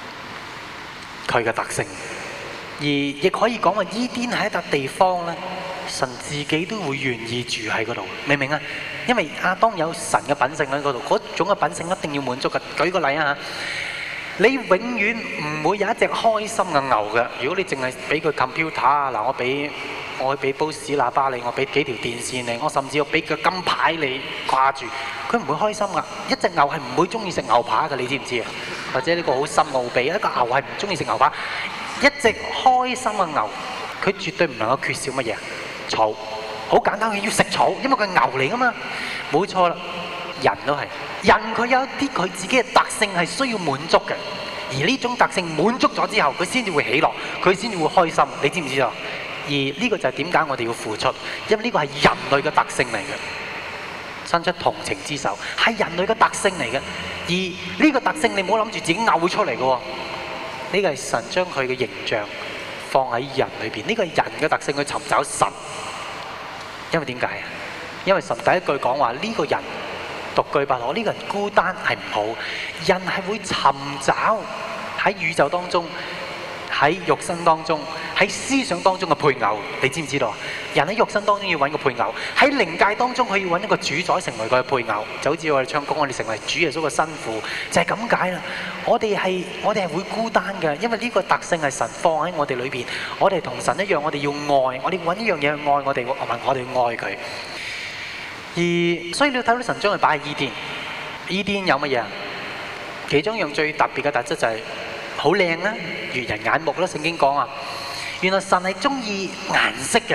Speaker 1: 佢嘅特性，而亦可以講話伊甸係一笪地方咧， 神自己都會願意住喺嗰度，明唔明啊？因為亞當有神嘅品性喺嗰度，嗰種嘅品性一定要滿足嘅。舉個例啊，你永遠唔會有一隻開心嘅牛嘅。如果你淨係俾佢 computer 啊，嗱，我俾我俾煲屎喇叭你，我俾幾條電線你，我甚至我俾個金牌你掛住，佢唔會開心噶。一隻牛係唔會中意食牛扒嘅，你知唔知啊？或者呢個好深奧秘，一個牛係唔中意食牛扒。一隻開心嘅牛，佢絕對唔能夠缺少乜嘢？草。好簡單，佢要食草，因為佢係牛嚟噶嘛。冇錯啦，人都係。人佢有一啲佢自己嘅特性係需要滿足嘅，而呢種特性滿足咗之後，佢先至會喜樂，佢先至會開心。你知唔知道？而呢個就係點解我哋要付出，因為呢個係人類嘅特性嚟嘅，伸出同情之手係人類嘅特性嚟嘅。而呢個特性你唔好諗住自己嘔出嚟嘅喎，呢個係神將佢嘅形象放喺人裏邊，呢個係人嘅特性去尋找神。因為點解啊？因為神第一句講話呢個人獨居不可，呢個人孤單係唔好。人係會尋找喺宇宙當中，喺肉身當中，喺思想當中嘅配偶。你知唔知道？人喺肉身當中要揾個配偶，喺靈界當中佢要揾一個主宰成為佢嘅配偶。就好似我哋唱歌，我哋成為主耶穌嘅新婦，就係咁解啦。我哋係我哋係會孤單嘅，因為呢個特性係神放喺我哋裏邊。我哋同神一樣，我哋要愛，我哋揾一樣嘢去愛我哋，我問我哋愛佢。而所以你要睇到神將佢擺喺伊甸，伊甸有乜嘢啊？其中一樣最特別嘅特質就係好靚啦，悅人眼目啦。聖經講啊，原來神係中意顏色嘅。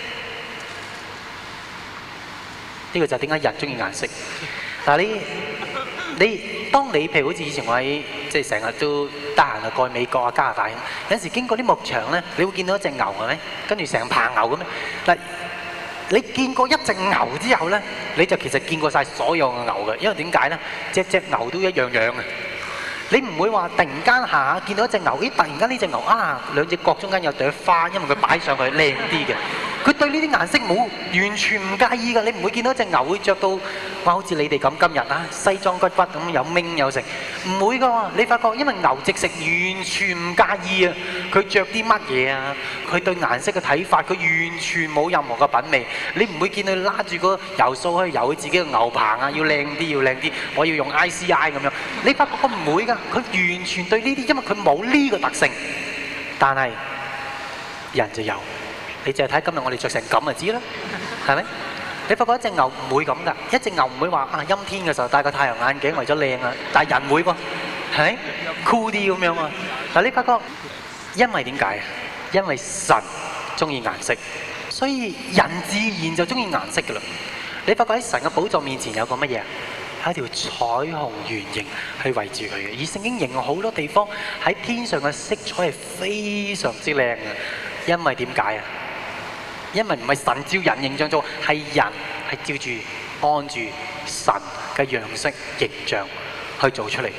Speaker 1: 呢個就係點解人中意顏色。但係你你當你譬如好似以前我喺即係成日都得閒啊過去美國啊加拿大，有陣時經過啲牧場咧，你會見到一隻牛係咪？跟住成棚牛咁樣。嗱，你見過一隻牛之後咧，你就其實見過曬所有嘅牛嘅，因為點解咧？隻隻牛都一樣樣嘅。你唔會話突然間下下見到一隻牛，咦？突然間呢隻牛啊，兩隻角中間有朵花，因為佢擺上去靚啲嘅。佢對呢啲顏色冇完全唔介意㗎。你唔會見到一隻牛會著到哇，好似你哋咁今日啊，西裝骨骨咁有銘有成，唔會㗎喎。你發覺因為牛直食完全唔介意啊，佢著啲乜嘢啊，佢對顏色嘅睇法，佢完全冇任何嘅品味。你唔會見佢拉住個油掃去油佢自己嘅牛棚啊，要靚啲要靚啲，我要用 I C I 咁樣。你發覺佢唔會㗎，佢完全對呢啲，因為佢冇呢個特性，但係人就有。你淨係睇今日我哋著成咁就知啦，係咪？你發覺一隻牛唔會咁㗎，一隻牛唔會話啊陰天嘅時候戴個太陽眼鏡為咗靚啊，但係人會喎，係咪？酷啲咁樣啊！嗱，你發覺因為點解啊？因為神中意顏色，所以人自然就中意顏色㗎啦。你發覺喺神嘅寶座面前有個乜嘢？係一條彩虹圓形去圍住佢嘅，而聖經形容好多地方喺天上嘅色彩係非常之靚嘅，因為點解啊？因為唔係神照人形象做，係人係照住按住神嘅樣式形象去做出嚟。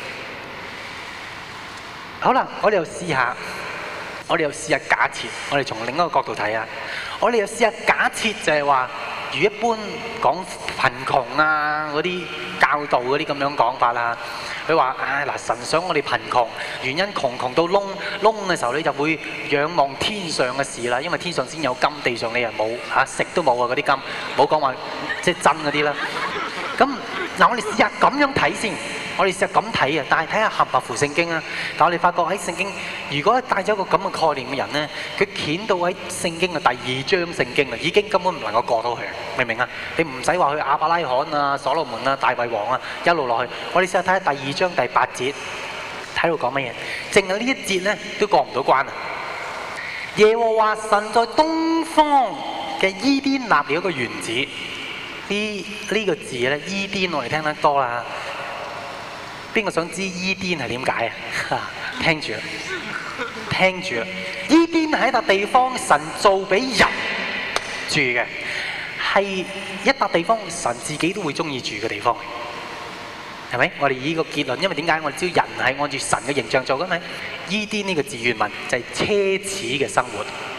Speaker 1: 好啦，我哋又試下，我哋又試下假設，我哋從另一個角度睇下，我哋又試下假設就係話，如一般講貧窮啊嗰啲教導嗰啲咁樣講法啦。佢話：唉嗱，神想我哋貧窮，原因窮窮到窿窿嘅時候，你就會仰望天上嘅事啦。因為天上先有金，地上你又冇嚇，食都冇啊嗰啲金，冇講話即係真嗰啲啦。咁嗱，我哋試下咁樣睇先，我哋試下咁睇啊，但係睇下合唔合乎聖經啊。但係我哋發覺喺聖經，如果帶咗個咁嘅概念嘅人咧，佢掀到喺聖經嘅第二章聖經啊，已經根本唔能夠過到去，明唔明啊？你唔使話去亞伯拉罕啊、所羅門啊、大衛王啊，一路落去。我哋試下睇下第二章第八節，睇到講乜嘢？淨係呢一節咧都過唔到關啊！耶和華神在東方嘅伊甸立了一個園子。呢呢個字咧，伊甸我哋聽得多啦。邊個想知伊甸係點解啊？聽住，聽住。伊甸係一笪地方，神造俾人住嘅，係一笪地方，神自己都會中意住嘅地方，係咪？我哋以呢個結論，因為點解我哋知道人係按住神嘅形象做嘅咪？伊甸呢個字原文就係奢侈嘅生活。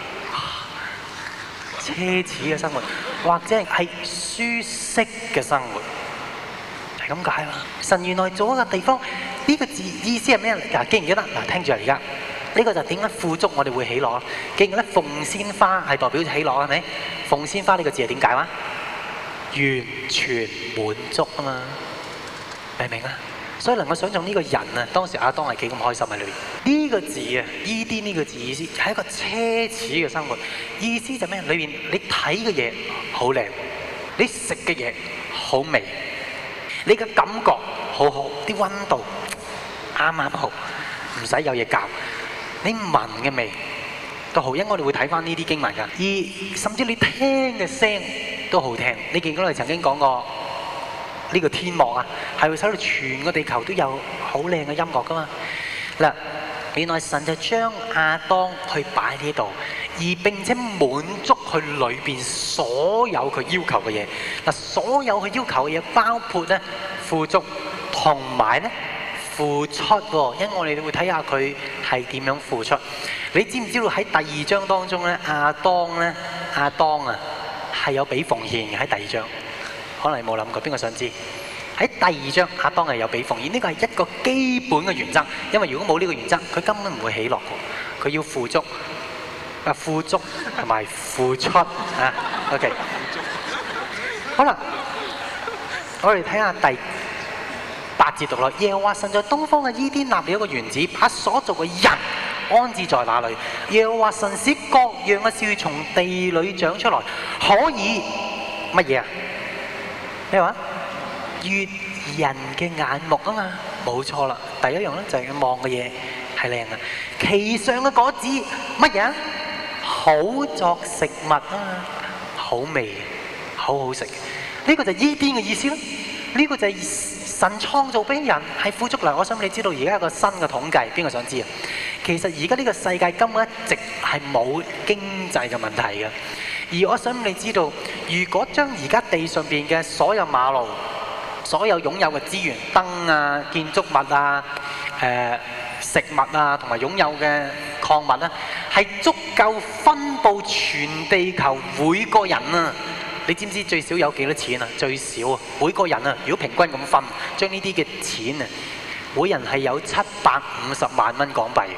Speaker 1: 奢侈嘅生活，或者係舒適嘅生活，係咁解嘛？神原來做一個地方，呢個字意思係咩嚟？嗱，記唔記得？嗱，聽住啊，而家呢個就點解富足我哋會喜樂？記住咧，鳳仙花係代表喜樂係咪？鳳仙花呢個字係點解啊？完全滿足啊嘛，明唔明啊？所以能夠想象呢個人啊，當時亞當係幾咁開心喺裏邊。呢個字啊，伊甸呢個字意思係一個奢侈嘅生活，意思就咩？裏邊你睇嘅嘢好靚，你食嘅嘢好味，你嘅感覺好好，啲溫度啱啱好，唔使有嘢教，你聞嘅味都好，因為我哋會睇翻呢啲經文㗎，而甚至你聽嘅聲都好聽。你記唔記得我哋曾經講過？呢個天幕啊，係會使到全個地球都有好靚嘅音樂噶嘛？嗱，原來神就將亞當去擺呢度，而並且滿足佢裏邊所有佢要求嘅嘢。嗱，所有佢要求嘅嘢包括咧富足同埋咧付出喎。因為我哋會睇下佢係點樣付出。你知唔知道喺第二章當中咧，亞當咧亞當啊係有俾奉獻嘅喺第二章。可能你冇諗過，邊個想知？喺第二章，亞當係有俾奉獻，呢個係一個基本嘅原則。因為如果冇呢個原則，佢根本唔會喜樂嘅。佢要富足，啊富足同埋付出啊。OK， 好啦，我哋睇下第八節讀落。耶和華神在東方嘅伊甸立了一個園子，把所造嘅人安置在那裏。耶和華神使各樣嘅樹從地裏長出來，可以乜嘢啊？咩話？悅人嘅眼目啊嘛，冇錯啦。第一樣咧就係佢望嘅嘢係靚啊，其上嘅果子乜嘢啊？好作食物啊嘛，好味，好好食。呢個就係伊甸嘅意思咯。呢個就係神創造俾人係富足嚟。我想你知道而家有個新嘅統計，邊個想知啊？其實而家呢個世界根本一直係冇經濟嘅問題嘅。而我想你知道，如果將而家地上邊嘅所有馬路、所有擁有嘅資源、燈啊、建築物啊、誒、呃、食物啊，同埋擁有嘅礦物啊，係足夠分佈全地球每個人啊！你知唔知最少有幾多錢啊？最少啊，每個人啊，如果平均咁分，將呢啲嘅錢啊，每人係有七百五十萬蚊港幣。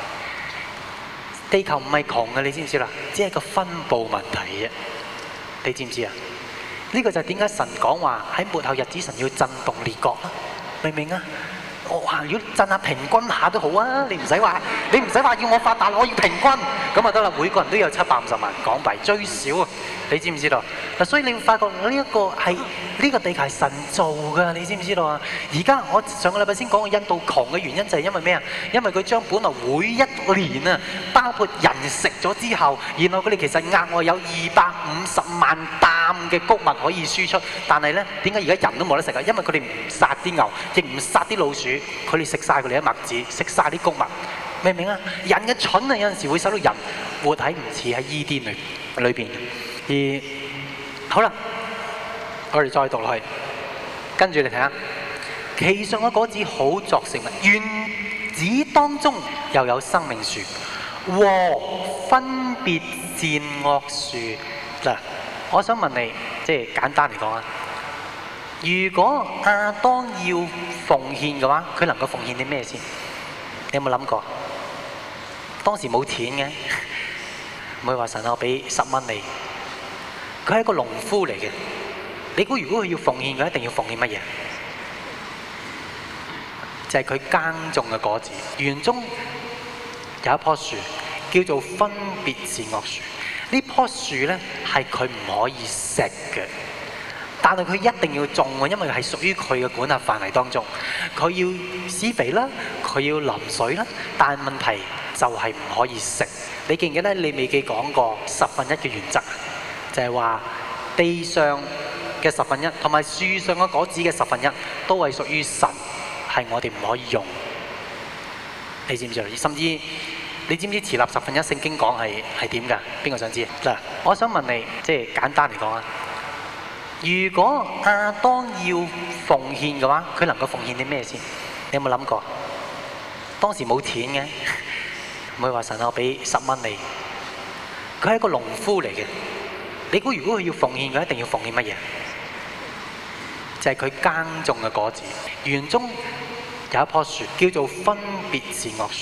Speaker 1: 地球唔係窮嘅，你知唔知啦？只係個分佈問題啫。你知唔知啊？呢個就係點解神講話喺末後日子神要震動列國啦？明唔明啊？我話如果震下平均下都好啊！你唔使話，你唔使話要我發達，我要平均咁啊得啦。每個人都有七百五十萬港幣，最少啊！你知唔知道？嗱，所以你會發覺呢一個係呢個地球係神造㗎，你知唔知道啊？而家我上個禮拜先講過印度窮嘅原因就係因為咩啊？因為佢將本來每一年啊，包括人食咗之後，然後佢哋其實額外有二百五十萬擔嘅穀物可以輸出，但係咧點解而家人都冇得食啊？因為佢哋唔殺啲牛，亦唔殺啲老鼠，佢哋食晒佢哋啲麥子，食晒啲穀物，明唔明啊？人嘅蠢啊，有陣時會使到人活喺唔似喺伊甸裏裏邊。而好啦，我哋再讀落去，跟住你睇下，其上嘅果子好作食物，園子當中又有生命樹和分別善惡樹。嗱，我想問你，即係簡單嚟講啊，如果亞當要奉獻嘅話，佢能夠奉獻啲咩先？你有冇諗過？當時冇錢嘅，唔會話神我俾十蚊你。佢係一個農夫嚟嘅，你估如果佢要奉獻，佢一定要奉獻乜嘢？就係佢耕種嘅果子。園中有一棵樹叫做分別善惡樹，呢棵樹咧係佢唔可以食嘅，但係佢一定要種喎，因為係屬於佢嘅管轄範圍當中。佢要施肥啦，佢要淋水啦，但係問題就係唔可以食。你記唔記得你未記講過十分一嘅原則？就係話地上嘅十分一同埋樹上嘅果子嘅十分一都係屬於神，係我哋唔可以用。你知唔知啊？甚至你知唔知持立十分一聖經講係係點㗎？邊個想知？嗱，我想問你，即係簡單嚟講啊，如果亞當要奉獻嘅話，佢能夠奉獻啲咩先？你有冇諗過？當時冇錢嘅，唔會話神我俾十蚊你。佢係一個農夫嚟嘅。你估如果佢要奉獻，佢一定要奉獻乜嘢？就係佢耕種嘅果子。園中有一棵樹叫做分別善惡樹，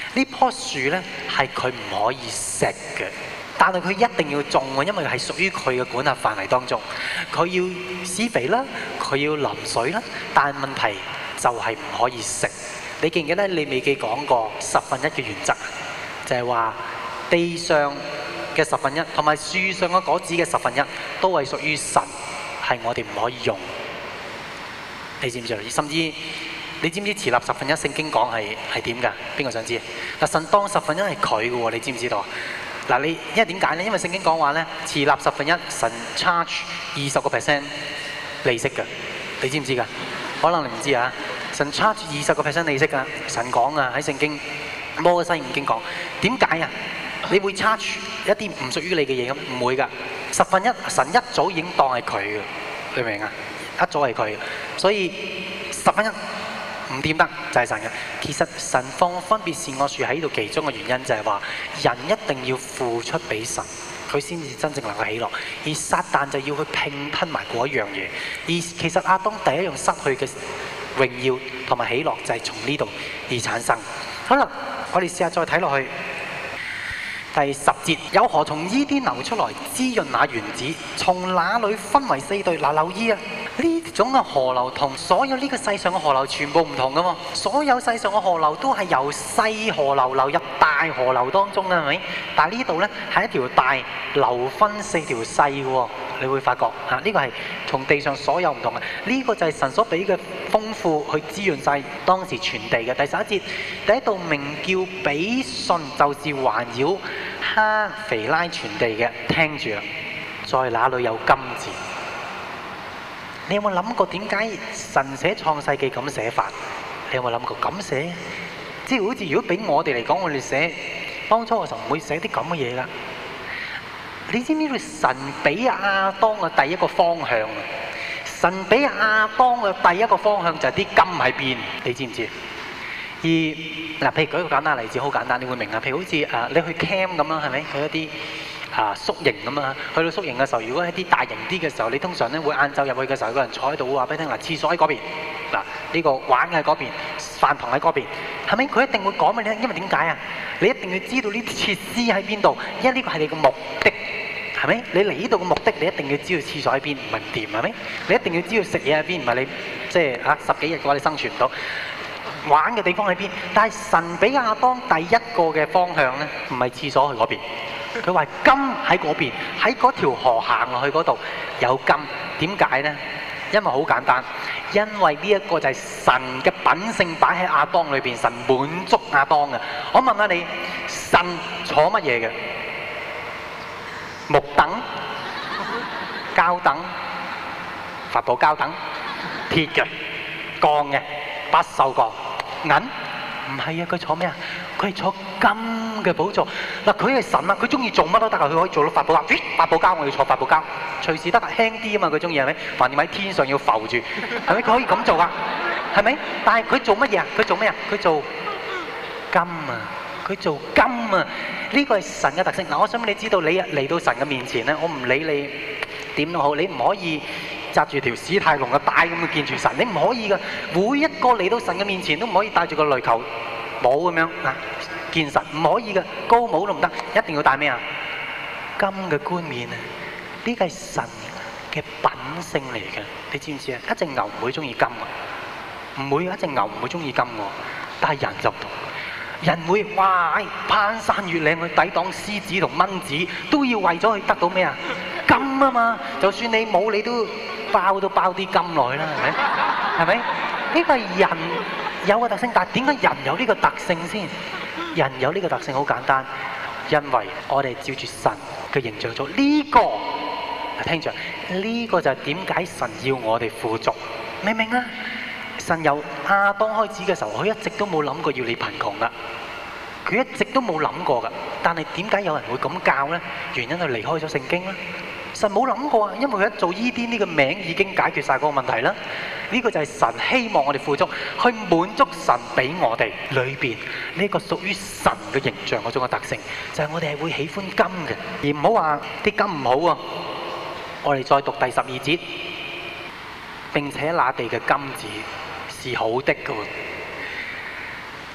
Speaker 1: 呢棵樹咧係佢唔可以食嘅，但係佢一定要種喎，因為係屬於佢嘅管轄範圍當中。佢要施肥啦，佢要淋水啦，但係問題就係唔可以食。你記唔記得你未記講過十分一嘅原則？就係話地上嘅十分一同埋樹上嘅果子嘅十分一都係屬於神，係我哋唔可以用。你知唔知啊？甚至你知唔知持立十分一聖經講係係點㗎？邊個想知？嗱，神當十分一係佢嘅喎，你知唔知道啊？嗱，你因為點解咧？因為聖經講話咧，持立十分一，神 charge 二十個 percent 利息㗎，你知唔知㗎？可能你唔知啊。神 charge 二十個 percent 利息㗎，神講啊喺聖經摩西五經講，點解啊？你會 charge 一啲唔屬於你嘅嘢咁？唔會㗎，十分一神一早已經當係佢嘅，你明唔明啊？一早係佢，所以十分一。唔掂得就係神嘅。其實神放分別善惡樹喺度，其中嘅原因就係話人一定要付出俾神，佢先至真正能夠喜樂。而撒旦就要去拼吞埋嗰一樣嘢。而其實亞當第一樣失去嘅榮耀同埋喜樂就係從呢度而產生。好啦，我哋試下再睇落去第十節，有河從伊甸流出來，滋潤那園子，從那裏分為四隊。嗱，留意啊！呢種嘅河流同所有呢個世上嘅河流全部唔同㗎喎，所有世上嘅河流都係由細河流流入大河流當中啦，係咪？但係呢度呢係一條大流分四條細嘅喎，你會發覺嚇呢、這個係同地上所有唔同嘅。呢、這個就係神所俾嘅豐富去滋潤晒當時全地嘅。第十一節，第一道名叫比遜，就是環繞哈肥拉全地嘅。聽住啦，在那裏有金字。你有冇諗過點解神寫創世記咁寫法？你有冇諗過咁寫？即係好似如果俾我哋嚟講，我哋寫當初嘅時候唔會寫啲咁嘅嘢㗎。你知唔知道神俾亞當嘅第一個方向啊？神俾亞當嘅第一個方向就係啲金喺邊？你知唔知？而嗱，譬如舉一個簡單例子，好簡單，你會明啊。譬如好似誒，你去 camp 咁啦，係咪？去一啲啊宿營咁啊，去到宿營嘅時候，如果係啲大型啲嘅時候，你通常咧會晏晝入去嘅時候，有個人坐喺度會話俾你聽嗱，廁所喺嗰邊，嗱呢個玩嘅喺嗰邊，飯堂喺嗰邊，係咪？佢一定會講俾你聽，因為點解啊？你一定要知道呢啲設施喺邊度，因為呢個係你嘅目的，係咪？你嚟呢度嘅目的，你一定要知道廁所喺邊，唔係唔掂，係咪？你一定要知道食嘢喺邊，唔係你即係嚇十幾日嘅話，你生存唔到。玩嘅地方喺邊？但係神俾亞當第一個嘅方向咧，唔係廁所去嗰邊。佢話金喺嗰邊，喺嗰條河行落去嗰度有金。點解呢？因為好簡單，因為呢一個就係神嘅品性擺喺亞當裏邊，神滿足亞當嘅。我問下你，神坐乜嘢嘅？木凳、膠凳、發泡膠凳、鐵嘅、鋼嘅、不鏽鋼。銀唔係啊，佢坐咩啊？佢係坐金嘅寶座。嗱，佢係神啊，佢中意做乜都得啊，佢可以做到發泡膠。咦，發泡膠我要坐發泡膠，隨時得啊，輕啲啊嘛，佢中意係咪？橫掂喺天上要浮住，係咪？佢可以咁做噶，係咪？但係佢做乜嘢啊？佢做咩啊？佢做金啊！佢做金啊！呢個係神嘅特性。嗱，我想你知道，你嚟到神嘅面前咧，我唔理你點都好，你唔可以紮住條史泰龍嘅帶咁去見住神，你唔可以噶。每一個嚟到神嘅面前都唔可以戴住個壘球帽咁樣啊，見神唔可以噶，高帽都唔得，一定要戴咩啊？金嘅冠冕啊！呢個係神嘅品性嚟嘅，你知唔知啊？一隻牛唔會中意金啊，唔會，一隻牛唔會中意金喎，但係人就唔同。人會哇攀山越嶺去抵擋獅子同蚊子，都要為咗去得到咩啊？金啊嘛！就算你冇，你都包都包啲金落去啦，係咪？係咪？呢個係人有個特性，但係點解人有呢個特性先？人有呢個特性好簡單，因為我哋照住神嘅形象做呢個。聽住，呢個就係點解神要我哋富足，明唔明啊？神由亞當開始嘅時候，佢一直都冇諗過要你貧窮噶，佢一直都冇諗過噶。但係點解有人會咁教呢？原因係離開咗聖經啦。神冇諗過啊，因為佢一做伊甸呢個名已經解決晒嗰個問題啦。呢個就係神希望我哋富足，去滿足神俾我哋裏邊呢個屬於神嘅形象嗰種嘅特性，就係我哋係會喜歡金嘅，而唔好話啲金唔好啊。我哋再讀第十二節，並且那地嘅金子是好的㗎喎。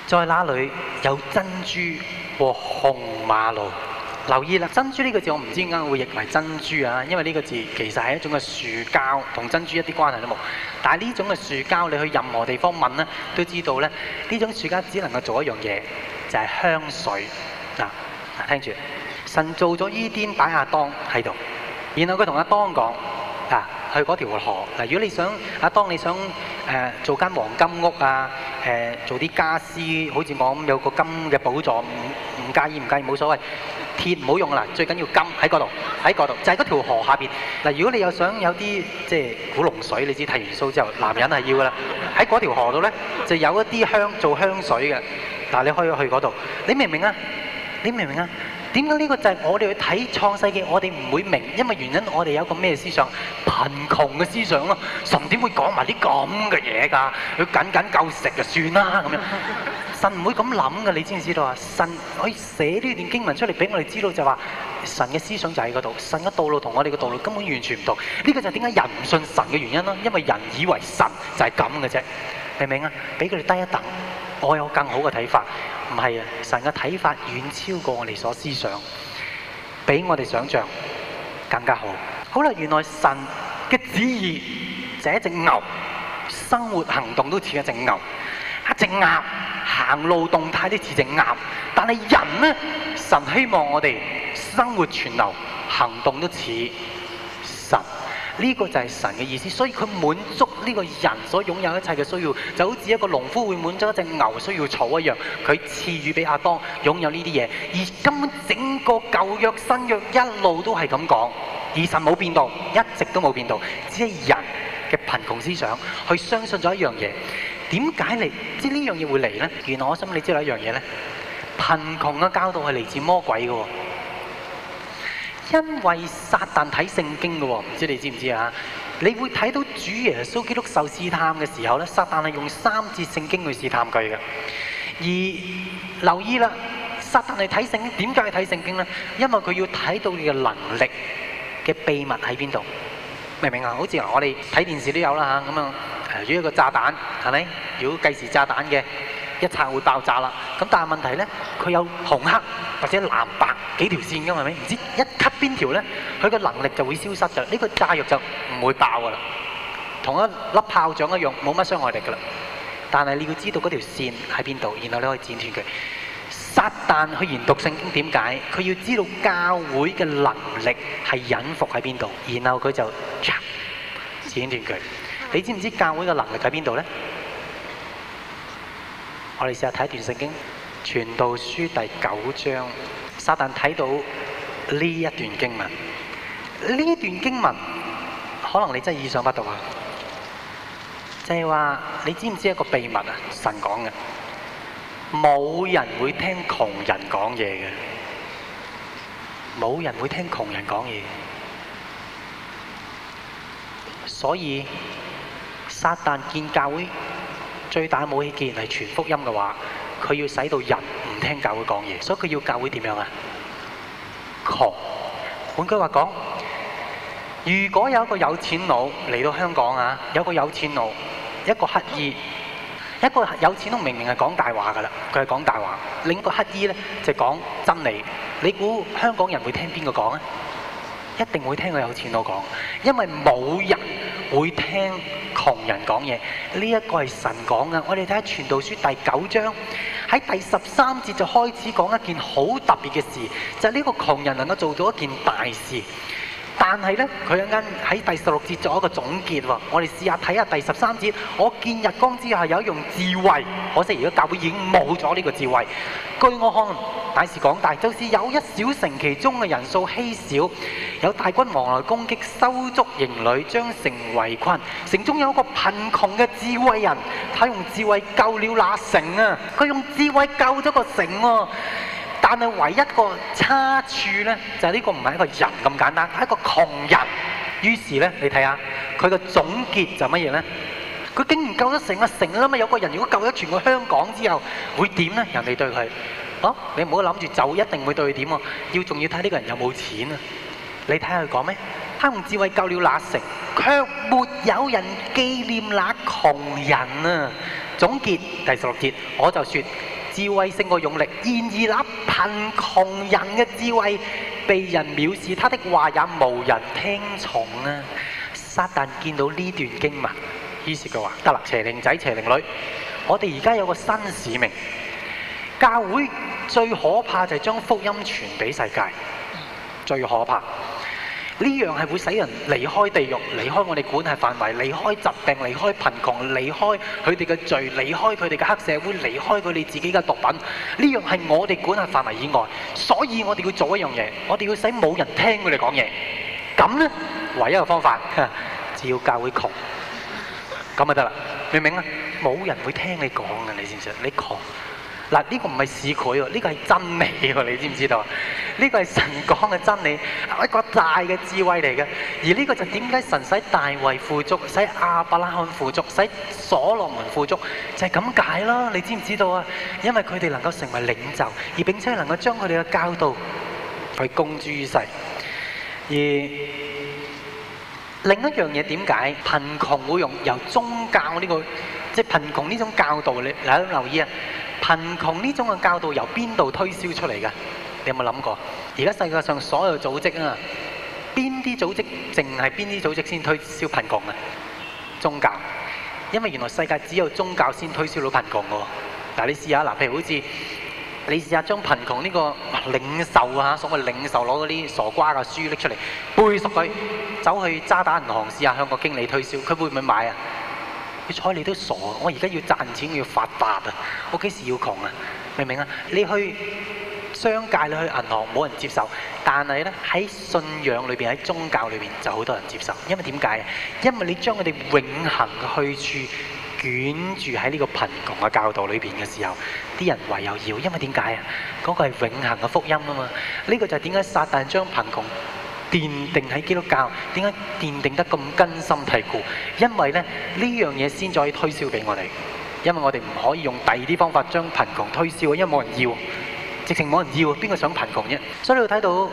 Speaker 1: 在那裏有珍珠和紅瑪瑙。留意啦，珍珠呢個字我唔知點解會譯為珍珠啊，因為呢個字其實係一種嘅樹膠，同珍珠一啲關係都冇。但係呢種嘅樹膠，你去任何地方問咧，都知道咧，呢種樹膠只能夠做一樣嘢，就係香水。嗱嗱，聽住，神做咗伊甸擺亞當喺度，然後佢同亞當講：嗱，去嗰條河。嗱，如果你想亞當你想誒、呃、做間黃金屋啊，誒、呃、做啲家私，好似我咁有個金嘅寶座，唔唔介意唔介意冇所謂。鐵唔好用啦，最緊要金喺嗰度，喺嗰度就係嗰條河下邊。嗱，如果你有想有啲即係古龍水，你知睇完 show 之後，男人係要噶啦。喺嗰條河度咧，就有一啲香做香水嘅。嗱，你可以去嗰度，你明唔明啊？你明唔明啊？點解呢個就係我哋去睇創世記，我哋唔會明，因為原因我哋有個咩思想？貧窮嘅思想咯。神點會講埋啲咁嘅嘢㗎？佢僅僅夠食就算啦咁樣。神唔會咁諗嘅，你知唔知道啊？神可以寫呢段經文出嚟俾我哋知道，就話神嘅思想就喺嗰度，神嘅道路同我哋嘅道路根本完全唔同。呢個就係點解人唔信神嘅原因咯，因為人以為神就係咁嘅啫，明唔明啊？俾佢哋低一等，我有更好嘅睇法。唔係啊，神嘅睇法遠超過我哋所思想，比我哋想象更加好。好啦，原來神嘅旨意就係一隻牛，生活行動都似一隻牛，一隻鴨行路動態都似隻鴨。但係人呢，神希望我哋生活全流，行動都似神。呢個就係神嘅意思，所以佢滿足呢個人所擁有一切嘅需要，就好似一個農夫會滿足一隻牛需要草一樣，佢賜予俾亞當擁有呢啲嘢。而根本整個舊約新約一路都係咁講，而神冇變到，一直都冇變到，只係人嘅貧窮思想去相信咗一樣嘢。點解嚟？即係呢樣嘢會嚟呢？原來我想你知道一樣嘢呢，貧窮嘅教導係嚟自魔鬼嘅。因為撒旦睇聖經嘅喎，唔知你知唔知啊？你會睇到主耶穌基督受試探嘅時候咧，撒旦係用三節聖經去試探佢嘅。而留意啦，撒旦係睇聖經，點解係睇聖經咧？因為佢要睇到你嘅能力嘅秘密喺邊度，明唔明啊？好似我哋睇電視都有啦嚇，咁啊，如果一個炸彈係咪？如果計時炸彈嘅一拆會爆炸啦，咁但係問題咧，佢有紅黑或者藍白幾條線㗎嘛，係咪？唔知一 cut 邊條咧，佢個能力就會消失㗎。呢個炸藥就唔會爆㗎啦，同一粒炮仗一樣，冇乜傷害力㗎啦。但係你要知道嗰條線喺邊度，然後你可以剪斷佢。撒旦去研讀聖經點解？佢要知道教會嘅能力係隱伏喺邊度，然後佢就剪斷佢。你知唔知教會嘅能力喺邊度咧？我哋試下睇一段聖經，傳道書第九章，撒旦睇到呢一段經文，呢段經文可能你真係意想不到啊！就係話，你知唔知一個秘密啊？神講嘅，冇人會聽窮人講嘢嘅，冇人會聽窮人講嘢，所以撒旦見教會最大武器既然係傳福音嘅話，佢要使到人唔聽教會講嘢，所以佢要教會點樣啊？窮。換句話講，如果有一個有錢佬嚟到香港啊，有個有錢佬，一個乞衣，一個有錢佬明明係講大話㗎啦，佢係講大話；另一個乞衣咧就講真理。你估香港人會聽邊個講啊？一定會聽個有錢佬講，因為冇人會聽窮人講嘢。呢一個係神講嘅。我哋睇下《傳道書》第九章，喺第十三節就開始講一件好特別嘅事，就係呢個窮人能夠做到一件大事。但係呢，佢一陣間喺第十六節做一個總結喎。我哋試下睇下第十三節。我見日光之下有一樣智慧，可惜而家教會已經冇咗呢個智慧。據我看，乃是廣大，就是有一小城，其中嘅人數稀少，有大軍王來攻擊，收足營壘，將城圍困。城中有一個貧窮嘅智慧人，他用智慧救了那城啊！佢用智慧救咗個城喎。但係唯一個差處呢，就係呢個唔係一個人咁簡單，係一個窮人。於是呢，你睇下佢個總結就乜嘢呢？佢竟然救咗成個城啦嘛！有個人如果救咗全個香港之後，會點呢？人哋對佢，哦，你唔好諗住就一定會對佢點喎。要仲要睇呢個人有冇錢啊？你睇下佢講咩？他用智慧救了那城，卻沒有人紀念那窮人啊！ 總結第十六節，我就說智慧勝過勇力，然而那貧窮人嘅智慧被人藐視，他的話也無人聽從啊！撒旦見到呢段經文，於是佢話：得啦，邪靈仔、邪靈女，我哋而家有個新使命。教會最可怕就係將福音傳俾世界，最可怕。呢樣係會使人離開地獄，離開我哋管轄範圍，離開疾病，離開貧窮，離開佢哋嘅罪，離開佢哋嘅黑社會，離開佢哋自己嘅毒品。呢樣係我哋管轄範圍以外，所以我哋要做一樣嘢，我哋要使冇人聽佢哋講嘢。咁呢，唯一嘅方法，只要教會窮，咁就得啦。明唔明啊？冇人會聽你講嘅，你知唔知啊？你窮。嗱，呢個唔係市儈喎，呢個係真理喎，你知唔知道？呢個係神講嘅真理，一個大嘅智慧嚟嘅。而呢個就點解神使大衛富足，使亞伯拉罕富足，使所羅門富足，就係咁解啦。你知唔知道啊？因為佢哋能夠成為領袖，而並且能夠將佢哋嘅教導去公諸於世。而另一樣嘢點解貧窮會用由宗教呢個，即係貧窮呢種教導？你你都留意啊！貧窮呢種嘅教導由邊度推銷出嚟㗎？你有冇諗過？而家世界上所有組織啊，邊啲組織淨係邊啲組織先推銷貧窮啊？宗教，因為原來世界只有宗教先推銷到貧窮㗎喎。嗱，你試下嗱，譬如好似你試下將貧窮呢個領袖啊，所謂領袖攞嗰啲傻瓜嘅書拎出嚟背熟佢，走去渣打銀行試下向個經理推銷，佢會唔會買啊？佢睬你都傻，我而家要賺錢，我要發達啊！我幾時要窮啊？明唔明啊？你去商界，你去銀行，冇人接受，但係咧喺信仰裏邊，喺宗教裏邊就好多人接受。因為點解啊？因為你將佢哋永恆嘅去處捲住喺呢個貧窮嘅教導裏邊嘅時候，啲人唯有要。因為點解啊？嗰個係永恆嘅福音啊嘛！呢個就係點解撒旦將貧窮奠定喺基督教，點解奠定得咁根深蒂固？因為咧呢樣嘢先至可以推銷俾我哋，因為我哋唔可以用第二啲方法將貧窮推銷，因為冇人要，直情冇人要，邊個想貧窮啫？所以你會睇到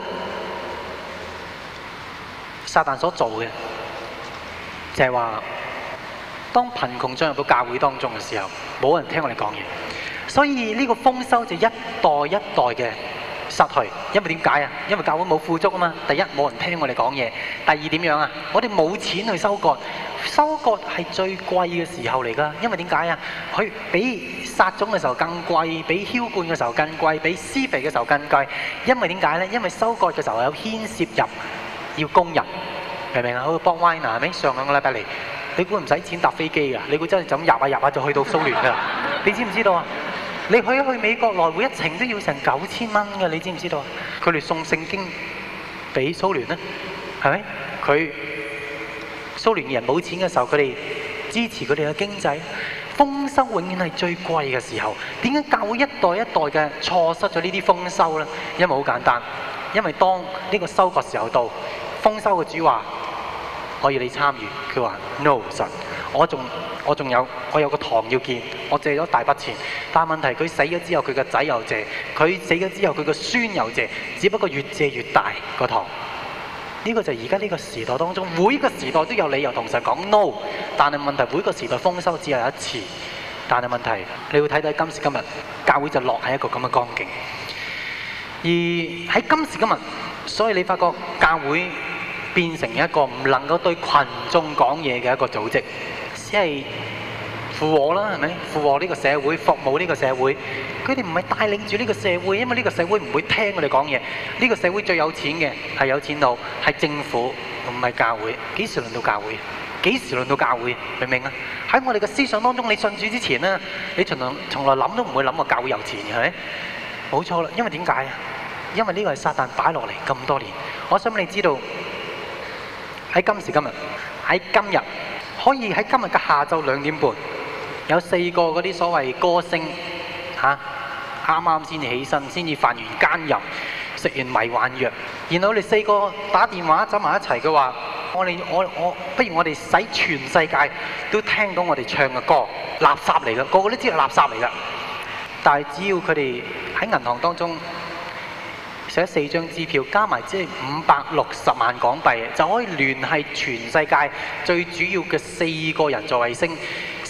Speaker 1: 撒旦所做嘅就係話，當貧窮進入到教會當中嘅時候，冇人聽我哋講嘢，所以呢個豐收就一代一代嘅失去，因為點解啊？因為教會冇富足啊嘛。第一，冇人聽我哋講嘢；第二，點樣啊？我哋冇錢去收割，收割係最貴嘅時候嚟㗎。因為點解啊？佢比撒種嘅時候更貴，比澆灌嘅時候更貴，比施肥嘅時候更貴。因為點解呢？因為收割嘅時候有牽涉入要工人，明唔明啊？好似 Bob Weiner 係咪？上兩個禮拜嚟，你估唔使錢搭飛機㗎？你估真係就咁入下入下就去到蘇聯㗎？你知唔知道啊？你去去美國來回一程都要成九千蚊嘅，你知唔知道？佢哋送聖經俾蘇聯咧，係咪？佢蘇聯嘅人冇錢嘅時候，佢哋支持佢哋嘅經濟。豐收永遠係最貴嘅時候。點解教會一代一代嘅錯失咗呢啲豐收呢？因為好簡單，因為當呢個收割時候到，豐收嘅主話：可以你參與。佢話 No 神，我仲。我仲有，我有個堂要建，我借咗大筆錢，但係問題佢死咗之後，佢個仔又借，佢死咗之後，佢個孫又借，只不過越借越大個堂。呢個就係而家呢個時代當中，每個時代都有理由同神講 no， 但係問題每個時代豐收只有一次，但係問題你會睇到今時今日教會就落喺一個咁嘅光景，而喺今時今日，所以你發覺教會變成一個唔能夠對群眾講嘢嘅一個組織。即係附和啦，係咪？附和呢個社會，服務呢個社會。佢哋唔係帶領住呢個社會，因為呢個社會唔會聽我哋講嘢。呢個社會最有錢嘅係有錢佬，係政府，唔係教會。幾時輪到教會？幾時輪到教會？明唔明啊？喺我哋嘅思想當中，你信主之前呢，你從來從來諗都唔會諗過教會有錢嘅，係咪？冇錯啦，因為點解啊？因為呢個係撒旦擺落嚟咁多年。我想你知道喺今時今日，喺今日。可以喺今日嘅下晝兩點半，有四個嗰啲所謂歌星嚇，啱啱先至起身，先至犯完奸淫，食完迷幻藥，然後我哋四個打電話走埋一齊嘅話，我哋我我不如我哋使全世界都聽到我哋唱嘅歌，垃圾嚟嘅，個個都知係垃圾嚟嘅。但係只要佢哋喺銀行當中寫四張支票，加埋即係五百六十萬港幣，就可以聯繫全世界最主要嘅四個人造衛星，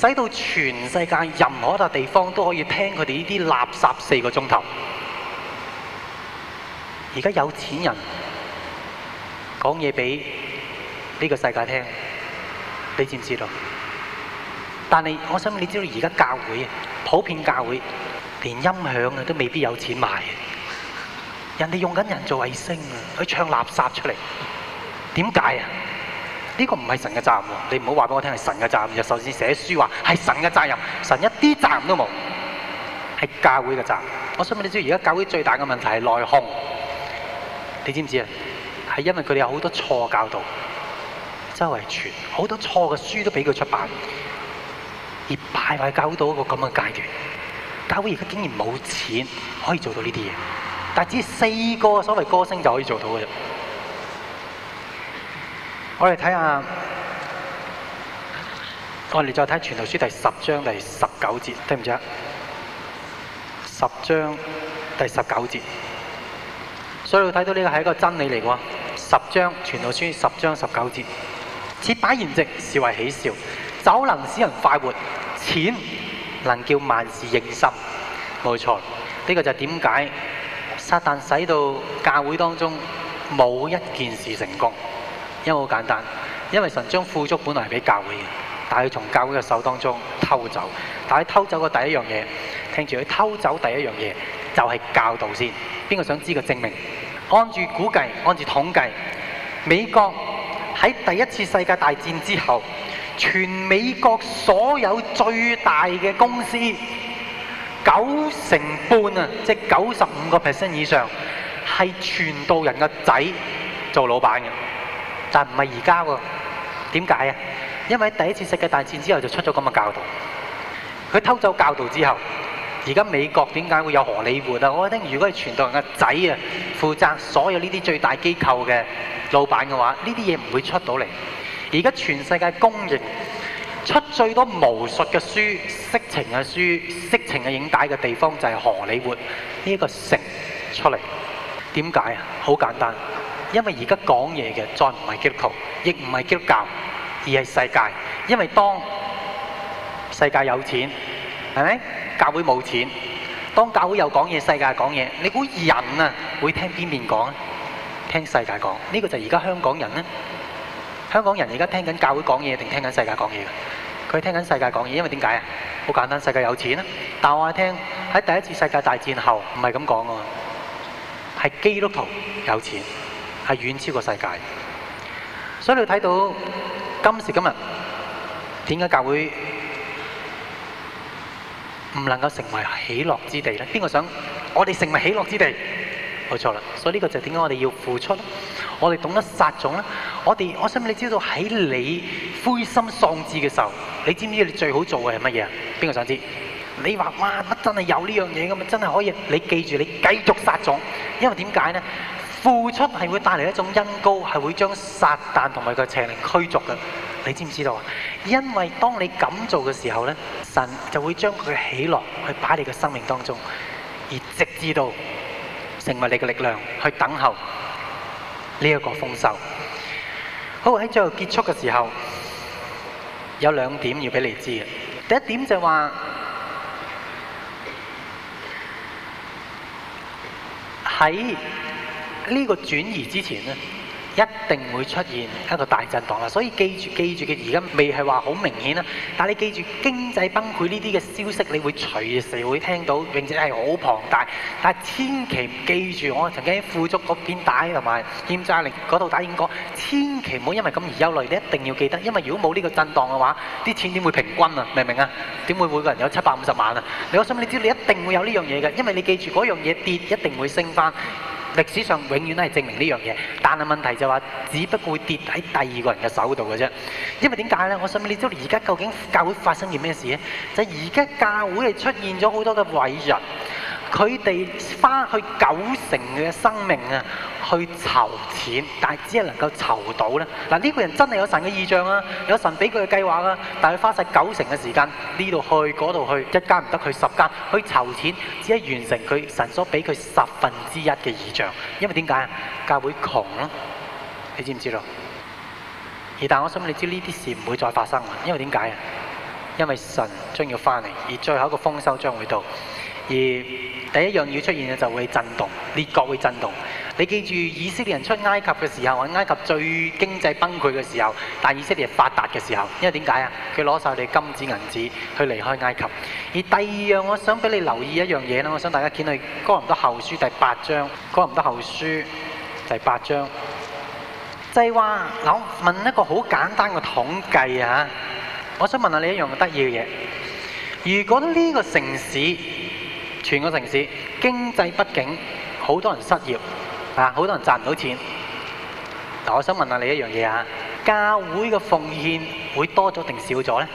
Speaker 1: 使到全世界任何一笪地方都可以聽佢哋呢啲垃圾四個鐘頭。而家有錢人講嘢俾呢個世界聽，你知唔知道？但係我想你知道，而家教會啊，普遍教會連音響啊都未必有錢買。人哋用緊人做衛星啊，去唱垃圾出嚟，點解啊？呢個唔係神嘅責任喎，你唔好話俾我聽係神嘅責任。就首先寫書話係神嘅責任，神一啲責任都冇，係教會嘅責任。我想問你知，而家教會最大嘅問題係內訌，你知唔知啊？係因為佢哋有好多錯教導，周圍傳好多錯嘅書都俾佢出版，而敗壞教會到一個咁嘅階段。教會而家竟然冇錢可以做到呢啲嘢，但係只係四個所謂歌星就可以做到嘅啫。我哋睇下，我哋再睇《傳道書》第十章第十九節，對唔住啊，十章第十九節。所以你睇到呢個係一個真理嚟嘅喎。十章《傳道書》十章十九節，設擺筵席是為喜笑，酒能使人快活，錢能叫萬事應心。冇錯，呢、這個就係點解撒旦使到教會當中冇一件事成功。因為好簡單，因為神將富足本來係俾教會嘅，但係佢從教會嘅手當中偷走。但係偷走嘅第一樣嘢，聽住佢偷走第一樣嘢就係教導先。邊個想知個證明？按住估計，按住統計，美國喺第一次世界大戰之後，全美國所有最大嘅公司九成半啊，即係九十五個 percent 以上係傳道人嘅仔做老闆嘅。但唔係而家喎，點解啊？因為喺第一次世界大戰之後就出咗咁嘅教導，佢偷走教導之後，而家美國點解會有荷里活啊？我覺得如果係傳道人嘅仔啊，負責所有呢啲最大機構嘅老闆嘅話，呢啲嘢唔會出到嚟。而家全世界公認出最多巫術嘅書、色情嘅書、色情嘅影帶嘅地方就係荷里活呢一個城出嚟。點解啊？好簡單。因為而家講嘢嘅再唔係基督徒，亦唔係基督教，而係世界。因為當世界有錢，係咪？教會冇錢。當教會又講嘢，世界講嘢，你估人啊會聽邊邊講啊？聽世界講。呢個就係而家香港人咧。香港人而家聽緊教會講嘢定聽緊世界講嘢嘅？佢聽緊世界講嘢，因為點解啊？好簡單，世界有錢啊。但我話聽喺第一次世界大戰後唔係咁講喎，係基督徒有錢。係遠超過世界，所以你睇到今時今日點解教會唔能夠成為喜樂之地呢？邊個想我哋成為喜樂之地？冇錯啦，所以呢個就係點解我哋要付出，我哋懂得撒種啦。我哋我想你知道喺你灰心喪志嘅時候，你知唔知你最好做嘅係乜嘢啊？邊個想知？你話哇乜真係有呢樣嘢咁啊？真係可以？你記住你繼續撒種，因為點解呢？付出係會帶嚟一種恩膏，係會將撒旦同埋佢邪靈驅逐嘅。你知唔知道啊？因為當你咁做嘅時候呢，神就會將佢嘅喜樂去擺喺你嘅生命當中，而直至到成為你嘅力量去等候呢一個豐收。好，喺最後結束嘅時候，有兩點要俾你知嘅。第一點就係話喺呢個轉移之前呢，一定會出現一個大震盪啦。所以記住記住嘅，而家未係話好明顯啦。但係你記住經濟崩潰呢啲嘅消息，你會隨時會聽到，並且係好龐大。但係千祈唔記住，我曾經喺富足嗰邊打同埋欠債令嗰度打演講，千祈唔好因為咁而憂慮。你一定要記得，因為如果冇呢個震盪嘅話，啲錢點會平均啊？明唔明啊？點會每個人有七百五十萬啊？你我想你知道，你一定會有呢樣嘢嘅，因為你記住嗰樣嘢跌一定會升翻。歷史上永遠都係證明呢樣嘢，但係問題就話，只不過會跌喺第二個人嘅手度嘅啫。因為點解呢？我想問你知道而家究竟教會發生件咩事呢？就係而家教會係出現咗好多嘅偉人，佢哋花去九成嘅生命啊，去籌錢，但係只係能夠籌到咧。嗱，呢個人真係有神嘅意象啊，有神俾佢嘅計劃啊，但係佢花晒九成嘅時間呢度去嗰度去，一間唔得去十間去籌錢，只係完成佢神所俾佢十分之一嘅意象。因為點解啊？教會窮咯，你知唔知道？而但我想你知呢啲事唔會再發生啊，因為點解啊？ 因為神將要翻嚟，而最後一個豐收將會到。而第一樣要出現嘅就會震動，列國會震動。你記住以色列人出埃及嘅時候，埃及最經濟崩潰嘅時候，但以色列發達嘅時候，因為點解啊？佢攞晒你金子銀子去離開埃及。而第二樣我想俾你留意一樣嘢啦，我想大家見去哥林多後書第八章，哥林多後書第八章，就係話嗱，我問一個好簡單嘅統計啊，我想問下你一樣得意嘅嘢，如果呢個城市全個城市經濟不景，好多人失業啊，好多人賺唔到錢。嗱，我想問下你一樣嘢啊，教會嘅奉獻會多咗定少咗呢？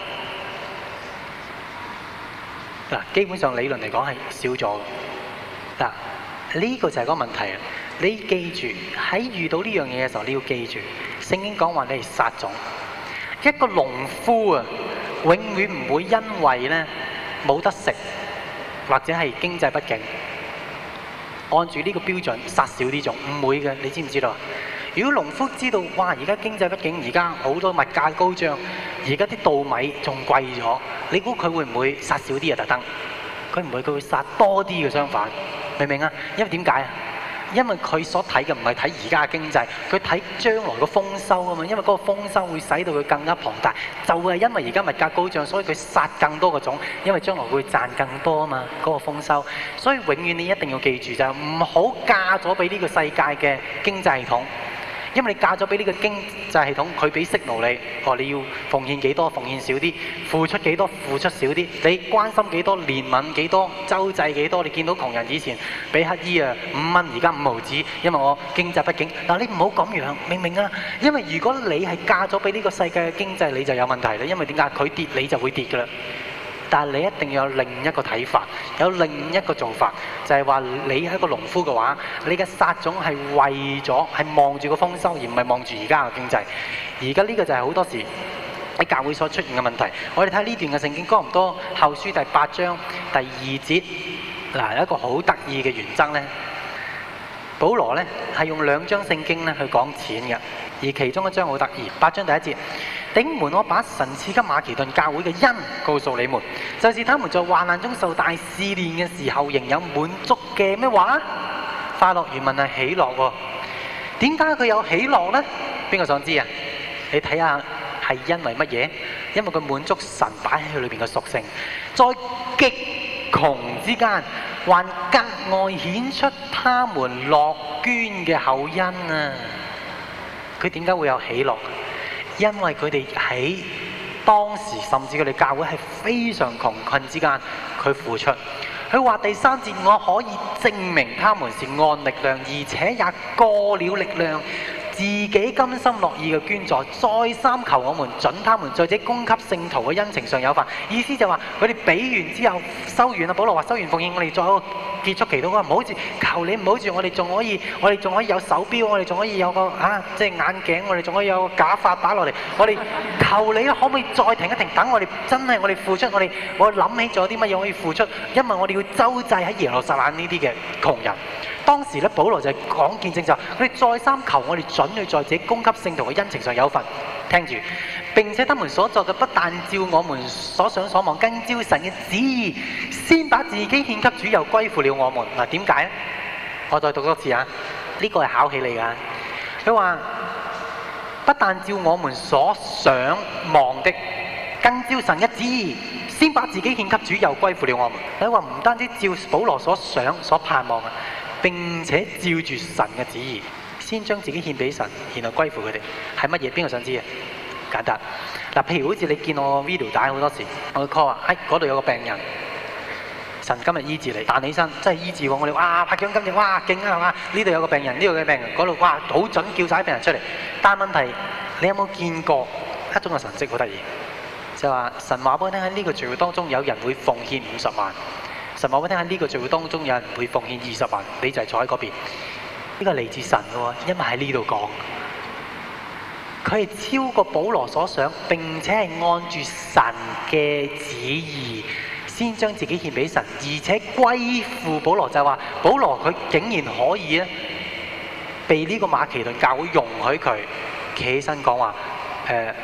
Speaker 1: 嗱，基本上理論嚟講係少咗。嗱，呢個就係嗰個問題啊！你記住喺遇到呢樣嘢嘅時候，你要記住聖經講話你係撒種。一個農夫啊，永遠唔會因為呢冇得食，或者係經濟不景，按住呢個標準殺少啲種，唔會嘅，你知唔知道？如果農夫知道，哇！而家經濟不景，而家好多物價高漲，而家啲稻米仲貴咗，你估佢會唔會殺少啲啊？特登，佢唔會，佢會殺多啲嘅。相反，明唔明啊？因為點解啊？因為佢所睇嘅唔係睇而家嘅經濟，佢睇將來嘅豐收啊嘛。因為嗰個豐收會使到佢更加龐大，就係因為而家物價高漲，所以佢殺更多嘅種，因為將來會賺更多啊嘛。嗰個豐收，所以永遠你一定要記住就係唔好嫁咗俾呢個世界嘅經濟系統。因為你嫁咗俾呢個經濟系統，佢俾息奴你，哦，你要奉獻幾多，奉獻少啲；付出幾多，付出少啲。你關心幾多，憐憫幾多，周濟幾多。你見到窮人以前俾乞衣啊五蚊，而家五毫子，因為我經濟不景。嗱，你唔好咁樣，明唔明啊？因為如果你係嫁咗俾呢個世界嘅經濟，你就有問題啦。因為點解？佢跌，你就會跌㗎啦。但係你一定要有另一個睇法，有另一個做法，就係話你係一個農夫嘅話，你嘅撒種係為咗係望住個豐收，而唔係望住而家嘅經濟。而家呢個就係好多時喺教會所出現嘅問題。我哋睇呢段嘅聖經，哥林多後書第八章第二節，嗱，有一個好得意嘅原則呢。保羅呢係用兩章聖經咧去講錢嘅，而其中一章好得意，八章第一節。弟兄們，我把神賜給馬其頓教會嘅恩告訴你們，就是他們在患難中受大試煉嘅時候，仍有滿足嘅咩話？快樂原文係喜樂喎。點解佢有喜樂呢？邊個想知啊？你睇下係因為乜嘢？因為佢滿足神擺喺佢裏邊嘅屬性，在極窮之間，還格外顯出他們樂捐嘅厚恩啊！佢點解會有喜樂？因為佢哋喺當時，甚至佢哋教會係非常窮困之間，佢付出。佢話第三節，我可以證明他們是按力量，而且也過了力量，自己甘心樂意嘅捐助，再三求我們準他們在這供給聖徒嘅恩情上有份。意思就話佢哋俾完之後收完啦。保羅話收完奉獻，我哋再結束祈禱。佢話唔好住，求你唔好住，我哋仲可以，我哋仲可以有手錶，我哋仲可以有個啊，即係眼鏡，我哋仲可以有個假髮打落嚟。我哋求你可唔可以再停一停，等我哋真係我哋付出，我哋我諗起咗啲乜嘢可以付出，因為我哋要周濟喺耶路撒冷呢啲嘅窮人。當時咧，保羅就係講見證就，佢哋再三求我哋準去在自己供給聖徒嘅恩情上有份。聽住，並且他們所作嘅不但照我們所想所望，更照神嘅旨意，先把自己獻給主，又歸附了我們。嗱，點解咧？我再讀多次啊！呢個係考起你㗎。佢話不但照我們所想望的，更照神嘅旨意，先把自己獻給主，又歸附了我們。佢話唔單止照保羅所想所盼望啊，並且照住神嘅旨意，先將自己獻俾神，然後歸附佢哋。係乜嘢？邊個想知啊？簡單嗱，譬如好似你見我 video 帶好多時，我會 call 話，哎，嗰度有個病人，神今日醫治你，彈起身，真係醫治喎！我哋哇拍掌今日哇勁啊嘛！呢度有個病人，呢度嘅病人，嗰度哇好準，叫晒啲病人出嚟。但問題，你有冇見過一種嘅神跡好得意？就話神話俾我聽，喺呢個聚會當中有人會奉獻五十萬。神話俾我聽，喺呢個聚會當中有人會奉獻二十萬，你就係坐喺嗰邊。呢個係嚟自神嘅喎，因為喺呢度講，佢係超過保羅所想，並且係按住神嘅旨意，先將自己獻俾神，而且歸附保羅。就係話保羅佢竟然可以咧，被呢個馬其頓教會容許佢企起身講話，誒、呃，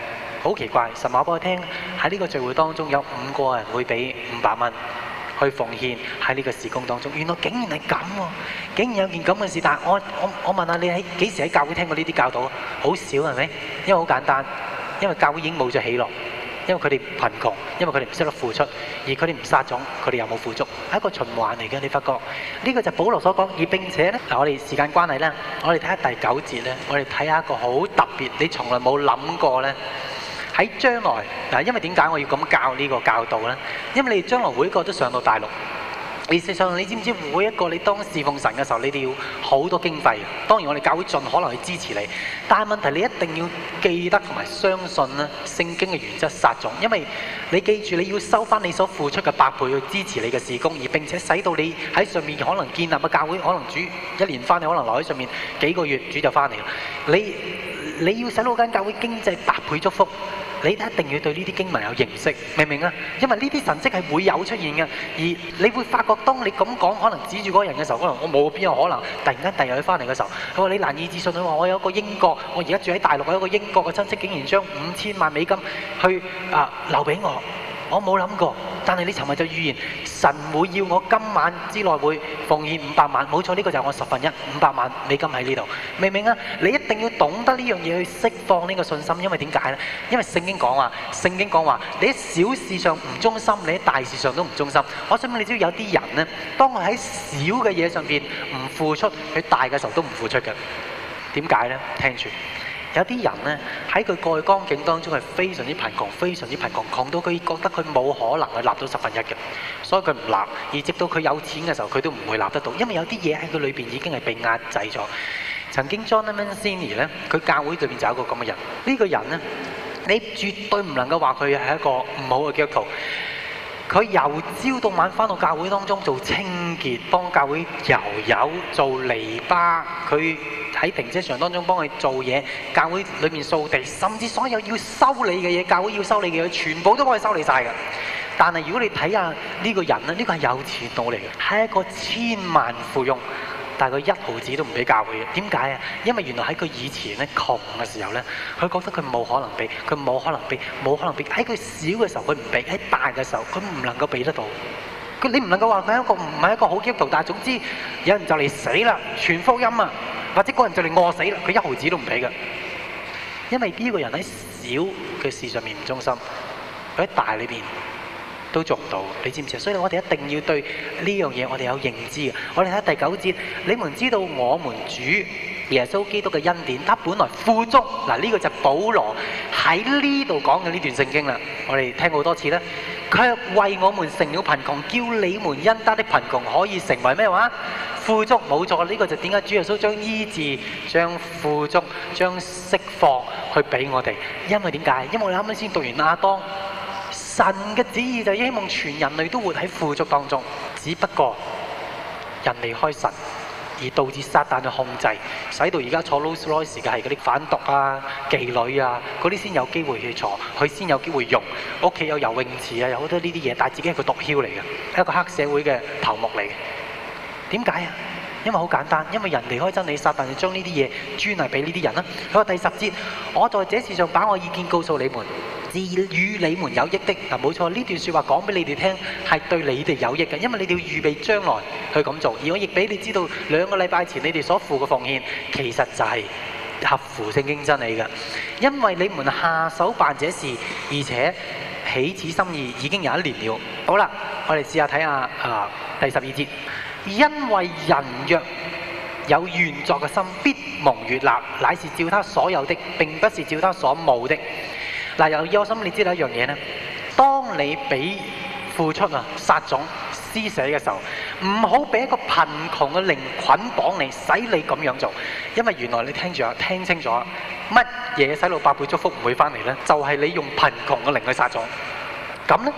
Speaker 1: 好奇怪，神話俾我聽喺呢個聚會當中有五個人會俾五百蚊去奉獻喺呢個事工當中。原來竟然係咁喎，竟然有件咁嘅事。但係我我我問下你喺幾時喺教會聽過呢啲教導啊？好少係咪？因為好簡單，因為教會已經冇咗喜樂。因為佢哋貧窮，因為佢哋唔識得付出，而佢哋唔撒種，佢哋又冇富足，係一個循環嚟嘅。你發覺呢個就係保羅所講，而並且咧，嗱我哋時間關係咧，我哋睇下第九節咧，我哋睇下一個好特別，你從來冇諗過咧，喺將來嗱，因為點解我要咁教呢個教導咧？因為你哋將來每一個都上到大陸。事實上，你知唔知每一個你當侍奉神嘅時候，你哋要好多經費。當然，我哋教會盡可能去支持你，但係問題你一定要記得同埋相信咧聖經嘅原則撒種，因為你記住你要收翻你所付出嘅百倍去支持你嘅事工，而並且使到你喺上面可能建立嘅教會，可能主一年翻，你可能留喺上面幾個月，主就翻嚟啦。你你要使到間教會經濟百倍祝福。你一定要對呢啲經文有認識，明唔明啊？因為呢啲神蹟係會有出現嘅，而你會發覺，當你咁講，可能指住嗰個人嘅時候，可能我冇邊有可能，突然間第日佢翻嚟嘅時候，佢話你難以置信，佢話我有一個英國，我而家住喺大陸，我有一個英國嘅親戚，竟然將五千萬美金去啊留俾我。我冇諗過，但係你尋日就預言神會要我今晚之內會奉獻五百萬，冇錯，呢個就係我十分一五百萬美金喺呢度，明唔明啊？你一定要懂得呢樣嘢去釋放呢個信心，因為點解呢？因為聖經講話，聖經講話，你喺小事上唔忠心，你喺大事上都唔忠心。我想問你知道有啲人呢，當佢喺小嘅嘢上邊唔付出，佢大嘅時候都唔付出嘅。點解呢？聽住。有啲人呢，喺佢過去光景當中係非常之貧窮，非常之貧窮，窮到佢覺得佢冇可能去立到十分一嘅，所以佢唔立。而直到佢有錢嘅時候，佢都唔會立得到，因為有啲嘢喺佢裏邊已經係被壓制咗。曾經 John Mancini 呢，佢教會裏邊就有一個咁嘅人。呢個人呢，你絕對唔能夠話佢係一個唔好嘅基督徒。佢由朝到晚返到教會當中做清潔，幫教會油油做籬笆，佢喺停車場當中幫佢做嘢，教會裏面掃地，甚至所有要修理嘅嘢，教會要修理嘅嘢，全部都幫佢修理晒㗎。但係如果你睇下呢個人咧，呢個係有錢佬嚟嘅，係一個千萬富翁。但係佢一毫子都唔俾教會嘅，點解啊？因為原來喺佢以前咧窮嘅時候咧，佢覺得佢冇可能俾，佢冇可能俾，冇可能俾。喺佢小嘅時候佢唔俾，喺大嘅時候佢唔能夠俾得到。佢你唔能夠話佢係一個唔係一個好基督徒，但係總之有人就嚟死啦，傳福音啊，或者嗰人就嚟餓死啦，佢一毫子都唔俾嘅。因為呢個人喺小嘅事上面唔忠心，佢喺大裏邊都做唔到，你知唔知啊？所以我哋一定要對呢樣嘢我哋有認知嘅。我哋睇第九節，你們知道我們主耶穌基督嘅恩典，他本來富足。嗱，呢個就係保羅喺呢度講嘅呢段聖經啦。我哋聽過好多次啦。卻為我們成了貧窮，叫你們因他的貧窮可以成為咩話？富足。冇錯，呢個就點解主耶穌將醫治、將富足、將釋放去俾我哋？因為點解？因為我哋啱啱先讀完亞當。神嘅旨意就希望全人類都活喺富足當中，只不過人離開神，而導致撒旦嘅控制，使到而家坐 Rolls Royce 嘅係嗰啲販毒啊、妓女啊，嗰啲先有機會去坐，佢先有機會用。屋企有游泳池啊，有好多呢啲嘢，但係自己係個毒梟嚟嘅，一個黑社會嘅頭目嚟嘅。點解啊？因為好簡單，因為人離開真理，撒旦就將呢啲嘢專係俾呢啲人啦。佢話第十節，我在這事上把我意見告訴你們。是與你們有益的。嗱，冇錯，呢段説話講俾你哋聽係對你哋有益嘅，因為你哋要預備將來去咁做。而我亦俾你知道，兩個禮拜前你哋所付嘅奉獻其實就係合乎聖經真理嘅，因為你們下手辦這事，而且起此心意已經有一年了。好啦，我哋試下睇下啊第十二節，因為人若有願作嘅心，必蒙悅納，乃是照他所有的，並不是照他所冇的。嗱，由於我心你知道一樣嘢呢，當你俾付出啊、撒種、施捨嘅時候，唔好俾一個貧窮嘅靈捆綁你，使你咁樣做。因為原來你聽住啊，聽清楚，乜嘢使到百倍祝福唔會翻嚟呢？就係、是、你用貧窮嘅靈去撒種，咁呢，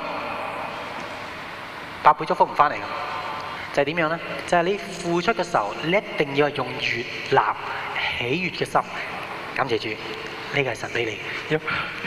Speaker 1: 百倍祝福唔翻嚟嘅，就係、是、點樣呢？就係、是、你付出嘅時候，你一定要係用悅納、喜悅嘅心，感謝主。呢個係神俾你，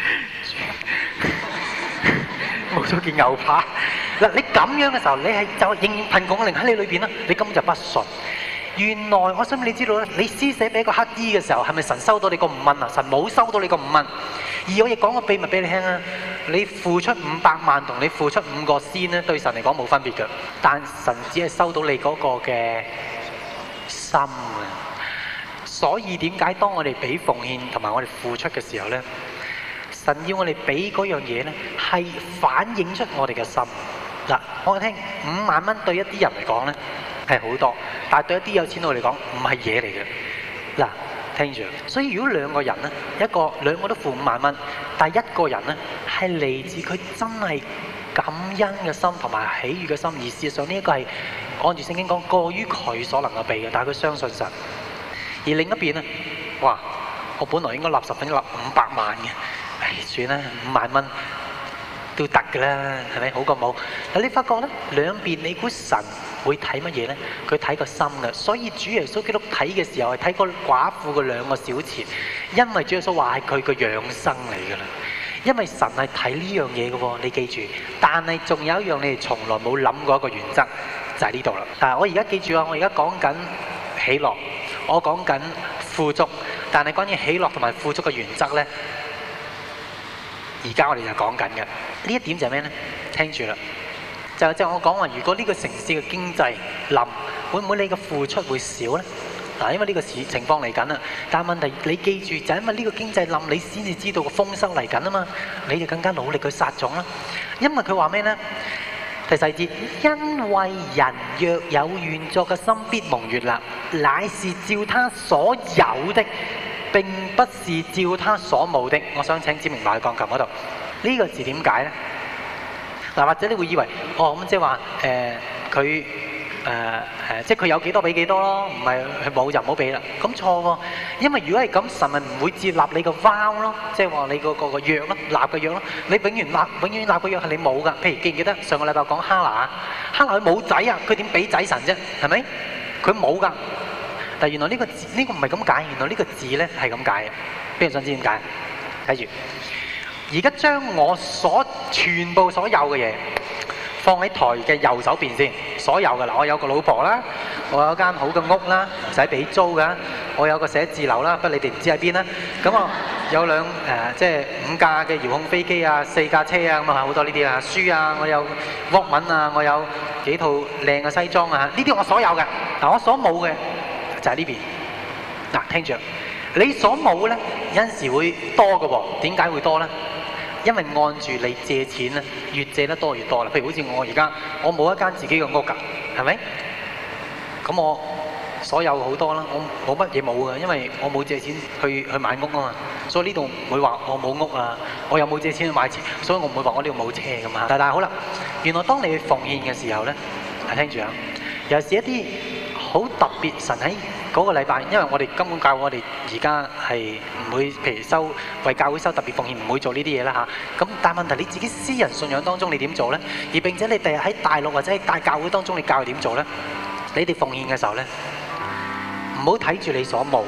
Speaker 1: 冇咗件牛扒。嗱，你咁樣嘅時候，你係就仍然貧窮嘅靈喺你裏邊啦，你根本就不信。 原來我想你知道咧，你施捨俾一個乞兒嘅時候，係咪神收到你個五蚊啊？神冇收到你個五蚊。而我亦講個秘密俾你聽啊，你付出五百萬同你付出五個仙咧，對神嚟講冇分別嘅。但神只係收到你嗰個嘅心啊。所以點解當我哋俾奉獻同埋我哋付出嘅時候咧，神要我哋俾嗰樣嘢咧，係反映出我哋嘅心。嗱，我聽五萬蚊對一啲人嚟講咧係好多，但係對一啲有錢佬嚟講唔係嘢嚟嘅。嗱，聽住，所以如果兩個人咧，一個兩個都付五萬蚊，但係一個人咧係嚟自佢真係感恩嘅心同埋喜悅嘅心，而事實上呢一個係按住聖經講過於佢所能夠俾嘅，但係佢相信神。而另一邊咧，哇！我本來應該立十分一立五百萬嘅，唉，算啦，五萬蚊都得㗎啦，係咪好過冇？但你發覺咧，兩邊你估神會睇乜嘢咧？佢睇個心嘅，所以主耶穌基督睇嘅時候係睇個寡婦嘅兩個小錢，因為主耶穌話係佢個養生嚟㗎啦。因為神係睇呢樣嘢嘅喎，你記住。但係仲有一樣你哋從來冇諗過一個原則，就係呢度啦。嗱，我而家記住啊，我而家講緊喜樂。我講緊富足，但係關於喜樂同埋富足嘅原則呢，而家我哋就講緊嘅。呢一點就係咩呢？聽住啦，就就我講話，如果呢個城市嘅經濟冧，會唔會你嘅付出會少呢？嗱，因為呢個情況嚟緊啦。但係問題，你記住就係因為呢個經濟冧，你先至知道個豐收嚟緊啊嘛，你就更加努力去撒種啦。因為佢話咩呢？第四節，因為人若有願作嘅心，必蒙悅納，乃是照他所有的，並不是照他所冇的。我想請指明埋喺鋼琴嗰度，呢、這個字點解呢？嗱，或者你會以為，哦咁即係話，誒佢誒誒，即係佢有幾多俾幾多咯，唔係佢冇就唔好俾啦。咁錯喎，因為如果係咁，神咪唔會接納你個 vow 咯，即係話你個個個約咯，立嘅約咯。你永遠立，永遠立嘅約係你冇噶。譬如記唔記得上個禮拜講哈拿，哈拿佢冇仔啊，佢點俾仔神啫？係咪？佢冇噶。但係原來呢個字呢個唔係咁解，原來呢個字咧係咁解嘅。邊個想知點解？睇住，而家將我所全部所有嘅嘢放喺台嘅右手邊先，所有嘅啦。我有個老婆啦，我有間好嘅屋啦，唔使俾租噶。我有個寫字樓啦，不過你哋唔知喺邊啦。咁我有兩誒、呃，即係五架嘅遙控飛機啊，四架車啊，咁啊好多呢啲啊，書啊，我有 Walkman啊，我有幾套靚嘅西裝啊，呢啲我所有嘅。嗱，我所冇嘅就係呢邊。嗱，聽住，你所冇咧有陣時會多嘅喎，點解會多咧？因為按住你借錢咧，越借得多越多啦。譬如好似我而家，我冇一間自己嘅屋㗎，係咪？咁我所有好多啦，我冇乜嘢冇㗎，因為我冇借錢去去買屋啊嘛。所以呢度唔會話我冇屋啊，我又冇借錢去買錢，所以我唔會話我呢度冇車㗎嘛。但係好啦，原來當你去奉獻嘅時候咧，係聽住啊，尤其是一啲好特別神喺嗰個禮拜，因為我哋根本教我哋而家係唔會，譬如收為教會收特別奉獻，唔會做呢啲嘢啦嚇。咁但係問題你自己私人信仰當中你點做呢？而並且你第日喺大陸或者喺大教會當中你教佢點做呢？你哋奉獻嘅時候呢，唔好睇住你所冇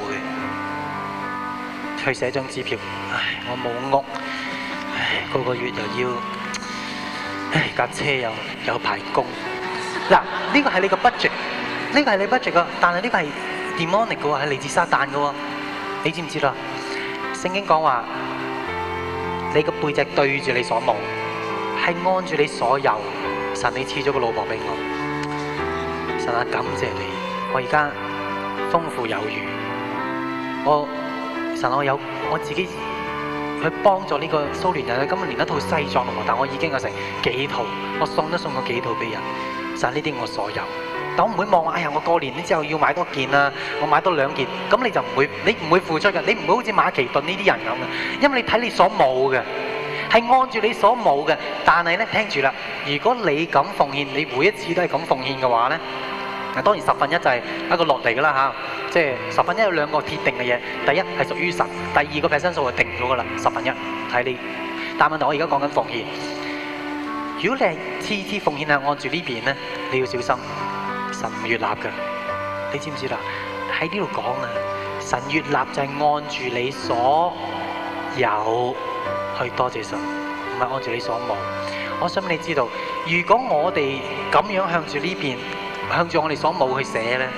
Speaker 1: 嘅，去寫張支票。唉，我冇屋，唉，個個月又要，唉，架車又有排供。嗱，呢個係你個 budget。呢個係你 budget 㗎，但係呢個係 demonic 嘅喎，係嚟自撒旦嘅喎。你知唔知啦？聖經講話，你個背脊對住你所冇，係按住你所有。神你賜咗個老婆俾我，神啊，感謝你，我而家豐富有餘。我神我有我自己去幫助呢個蘇聯人，今日連一套西裝都冇，但我已經有成幾套，我送都送過幾套俾人。神呢啲我所有。但我唔會望話，哎呀！我過年之後要買多件啊，我買多兩件，咁你就唔會，你唔會付出嘅，你唔會好似馬其頓呢啲人咁嘅，因為你睇你所冇嘅，係按住你所冇嘅。但係咧，聽住啦，如果你咁奉獻，你每一次都係咁奉獻嘅話咧，嗱當然十分一就係一個落嚟㗎啦嚇，即係十分一有兩個鐵定嘅嘢，第一係屬於神，第二個 percent 數就定咗㗎啦，十分一睇你。但問題我而家講緊奉獻，如果你係次次奉獻係按住呢邊咧，你要小心。神唔悅納嘅，你知唔知啦？喺呢度講啊，神悅納就係按住你所有去多謝神，唔係按住你所冇。我想你知道，如果我哋咁樣向住呢邊，向住我哋所冇去寫咧，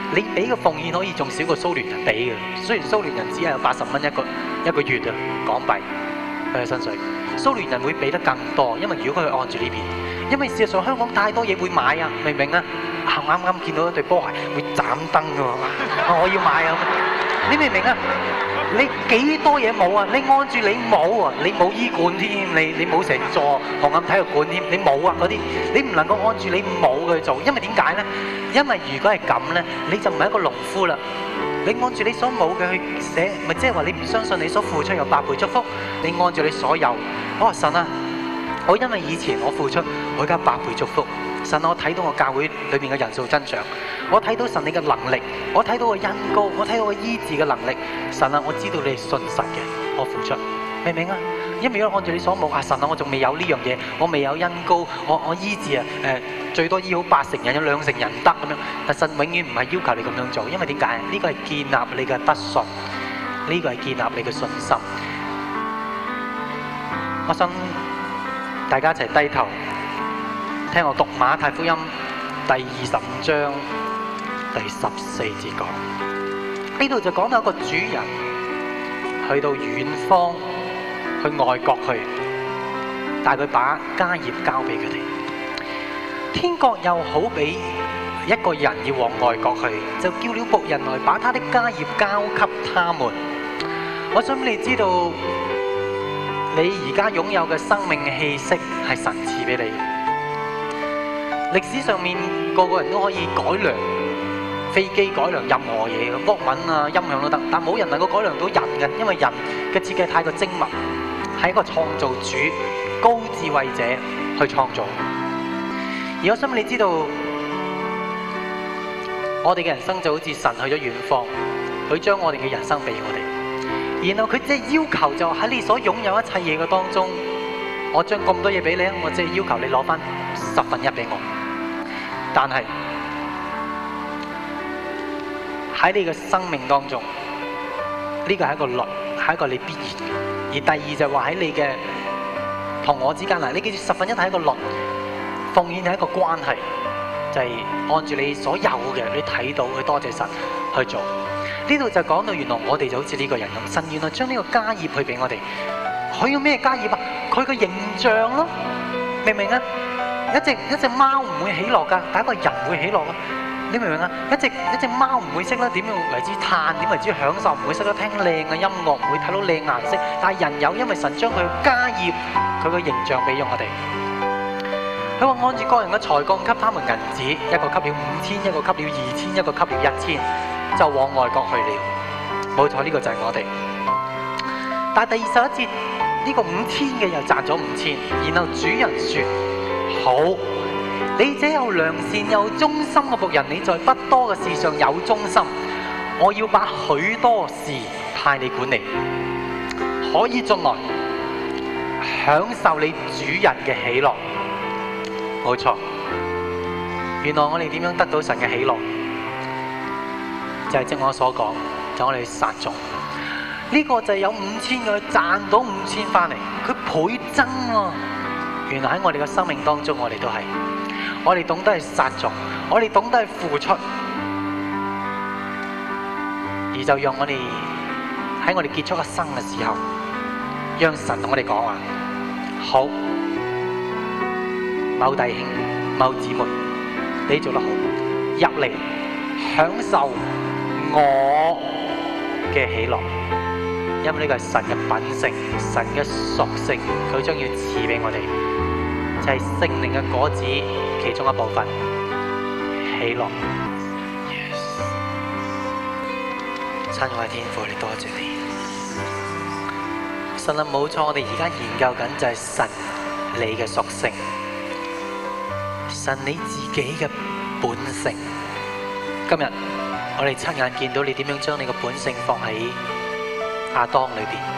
Speaker 1: 你俾嘅奉獻可以仲少過蘇聯人俾嘅。雖然蘇聯人只係有八十蚊一個一個月啊港幣佢嘅薪水，蘇聯人會俾得更多，因為如果佢按住呢邊，因為事實上香港太多嘢會買啊，明唔明啊？啱啱見到一對波鞋會斬燈㗎喎，我要買啊！你明唔明啊？你幾多嘢冇啊？你按住你冇啊，你冇醫館添，你你冇成座紅磡體育館添，你冇啊嗰啲，你唔能夠按住你冇去做，因為點解呢？因為如果係咁呢，你就唔係一個農夫啦。你按住你所冇嘅去寫，咪即係話你唔相信你所付出有百倍祝福。你按住你所有，我話神啊，我因為以前我付出，我而家百倍祝福。神，我睇到我教會裏面嘅人數增長，我睇到神你嘅能力，我睇到個恩膏，我睇到個醫治嘅能力。神啊，我知道你係信實嘅，我付出，明唔明啊？因為如果按照你所冇啊，神啊，我仲未有呢樣嘢，我未有恩膏，我我醫治啊，誒、呃、最多醫好八成人，有兩成人唔得咁樣。但神永遠唔係要求你咁樣做，因為點解？呢個係建立你嘅德信，呢個係建立你嘅信心。我想大家一齊低頭。聽我讀馬太福音第二十五章第十四節講，呢度就講到一個主人去到遠方，去外國去，但係佢把家業交俾佢哋。天國又好比一個人要往外國去，就叫了僕人來把他的家業交給他們。我想你知道，你而家擁有嘅生命氣息係神賜俾你。歷史上面個個人都可以改良飛機，改良任何嘢，軛文啊、音響都得，但冇人能夠改良到人嘅，因為人嘅設計太過精密，係一個創造主、高智慧者去創造。而我想你知道，我哋嘅人生就好似神去咗遠方，佢將我哋嘅人生俾我哋，然後佢即係要求就喺你所擁有一切嘢嘅當中，我將咁多嘢俾你啊，我即係要求你攞翻十分一俾我。但係喺你嘅生命當中，呢個係一個律，係一個你必然嘅。而第二就係話喺你嘅同我之間嗱，你記住十分一係一個律，奉獻係一個關係，就係按住你所有嘅，你睇到去多謝神去做。呢度就講到原來我哋就好似呢個人咁，神原來將呢個家業去俾我哋。佢要咩家業啊？佢個形象咯，明唔明啊？一隻一隻貓唔會喜樂噶，但係一個人會喜樂咯。你明唔明啊？一隻一隻貓唔會識得點樣為之嘆，點為之享受，唔會識得聽靚嘅音樂，唔會睇到靚顏色。但係人有，因為神將佢嘅家業、佢嘅形象俾咗我哋。佢話按住個人嘅才幹給他們銀子，一個給了五千，一個給了二千，一個給了一千，就往外國去了。冇錯，呢個就係我哋。但係第二十一節，呢個五千嘅又賺咗五千，然後主人說：好，你這有良善又忠心嘅僕人，你在不多嘅事上有忠心，我要把許多事派你管理，可以進來享受你主人嘅喜樂。冇錯，原來我哋點樣得到神嘅喜樂，就係正我所講，就係我哋撒種。呢個就係有五千嘅賺到五千翻嚟，佢倍增啊！原來喺我哋嘅生命當中，我哋都係，我哋懂得係撒種，我哋懂得係付出，而就讓我哋喺我哋結束一生嘅時候，讓神同我哋講話：好，某弟兄、某姊妹，你做得好，入嚟享受我嘅喜樂。因為呢個係神嘅品性，神嘅屬性，佢將要賜俾我哋，就係聖靈嘅果子其中一部分，喜樂。Yes， 親愛的天父，你多謝你。神啊，冇錯，我哋而家研究緊就係神你嘅屬性，神你自己嘅本性。今日我哋親眼見到你點樣將你嘅本性放喺亞當裏邊，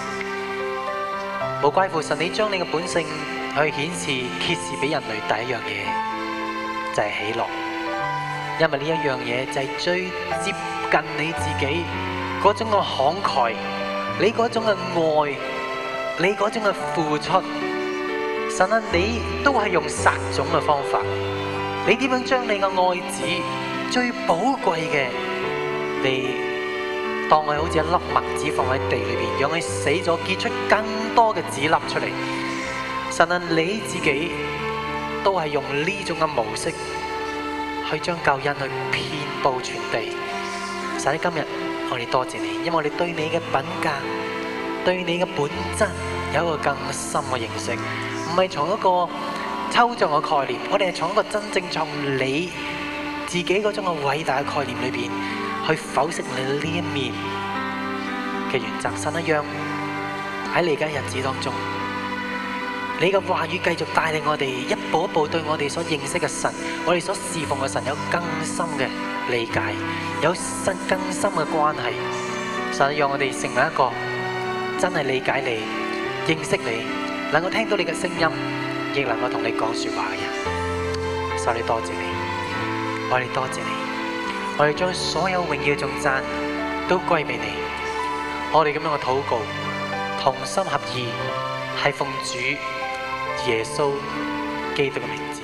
Speaker 1: 無怪乎神你將你嘅本性去顯示揭示俾人類第一樣嘢，就係喜樂。因為呢一樣嘢就係最接近你自己嗰種嘅慷慨，你嗰種嘅愛，你嗰種嘅付出。神啊，你都係用撒種嘅方法，你點樣將你嘅愛子最寶貴嘅，你當佢好似一粒麥子放喺地裏邊，讓佢死咗，結出更多嘅籽粒出嚟。神啊，你自己都係用呢種嘅模式去將救恩去遍佈全地。神，今日我哋多謝你，因為我哋對你嘅品格、對你嘅本質有一個更深嘅認識，唔係從一個抽象嘅概念，我哋係從一個真正從你自己嗰種嘅偉大嘅概念裏邊去剖析你呢一面嘅原則。神一樣喺你嘅日子當中，你嘅話語繼續帶領我哋一步一步對我哋所認識嘅神，我哋所侍奉嘅神有更深嘅理解，有深更深嘅關係。神讓我哋成為一個真係理解你、認識你、能夠聽到你嘅聲音，亦能夠同你講說話嘅人。神，你多謝你，我哋多謝你，我哋將所有榮耀頌讚都歸俾你。我哋咁樣嘅禱告，同心合意，係奉主耶穌基督嘅名字。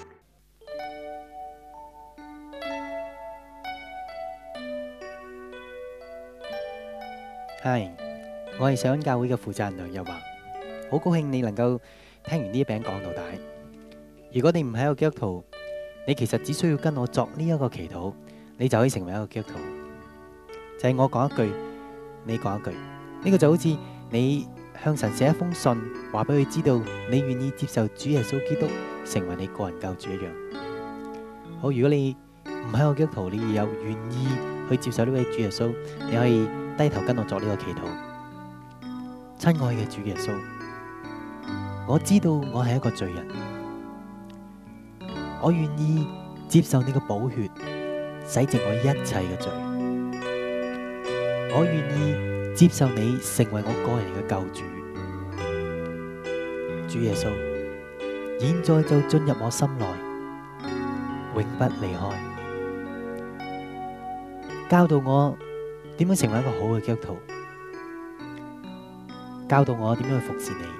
Speaker 2: 係，我係上恩教會嘅負責人梁日華，好高興你能夠聽完呢一餅講到底。如果你唔係一個基督徒，你其實只需要跟我作呢一個祈禱，你就可以成為一個基督徒。就係我講一句，你講一句，呢個就好似你向神寫一封信，話俾佢知道你願意接受主耶穌基督成為你個人救主一樣。好，如果你唔係一個基督徒，你有願意去接受呢位主耶穌，你可以低頭跟我作呢個祈禱。親愛嘅主耶穌，我知道我係一個罪人，我願意接受你嘅寶血洗淨我一切嘅罪，我願意接受你成為我個人嘅救主。主耶穌，現在就進入我心內，永不離開，教導我點樣成為一個好嘅基督徒，教導我點樣去服侍你。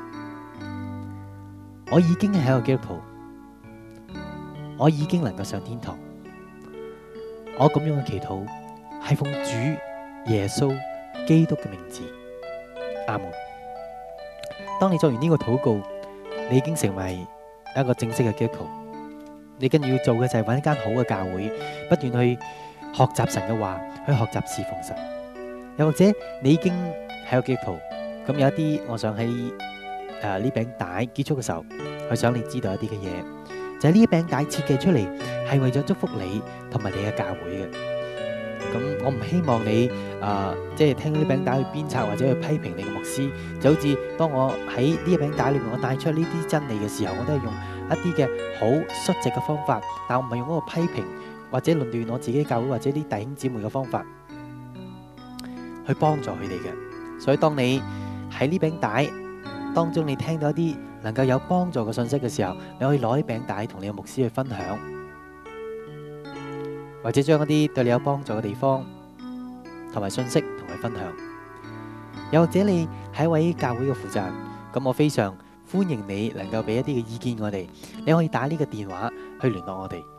Speaker 2: 我已經係一個基督徒，我已經能夠上天堂。我咁樣嘅祈禱係奉主耶穌基督嘅名字，阿門。當你做完呢個禱告，你已經成為一個正式嘅基督徒。你跟住要做嘅就係揾一間好嘅教會，不斷去學習神嘅話，去學習侍奉神。又或者你已經係個基督徒，咁有一啲，我想喺誒呢餅帶結束嘅時候，去想你知道一啲嘅嘢，就係呢一餅帶設計出嚟係為咗祝福你同埋你嘅教會嘅。咁我唔希望你誒即係聽呢餅帶去鞭策或者去批評你嘅牧師，就好似當我喺呢一餅帶裏面我帶出呢啲真理嘅時候，我都係用一啲嘅好率直嘅方法，但我唔係用嗰個批評或者論斷我自己教會或者啲弟兄姊妹嘅方法去幫助佢哋嘅。所以當你喺呢餅帶當中你聽到一啲能夠有幫助嘅信息嘅時候，你可以攞啲餅帶同你嘅牧師去分享，或者將一啲對你有幫助嘅地方同埋信息同佢分享。又或者你係一位教會嘅負責人，咁我非常歡迎你能夠俾一啲嘅意見我哋，你可以打呢個電話去聯絡我哋。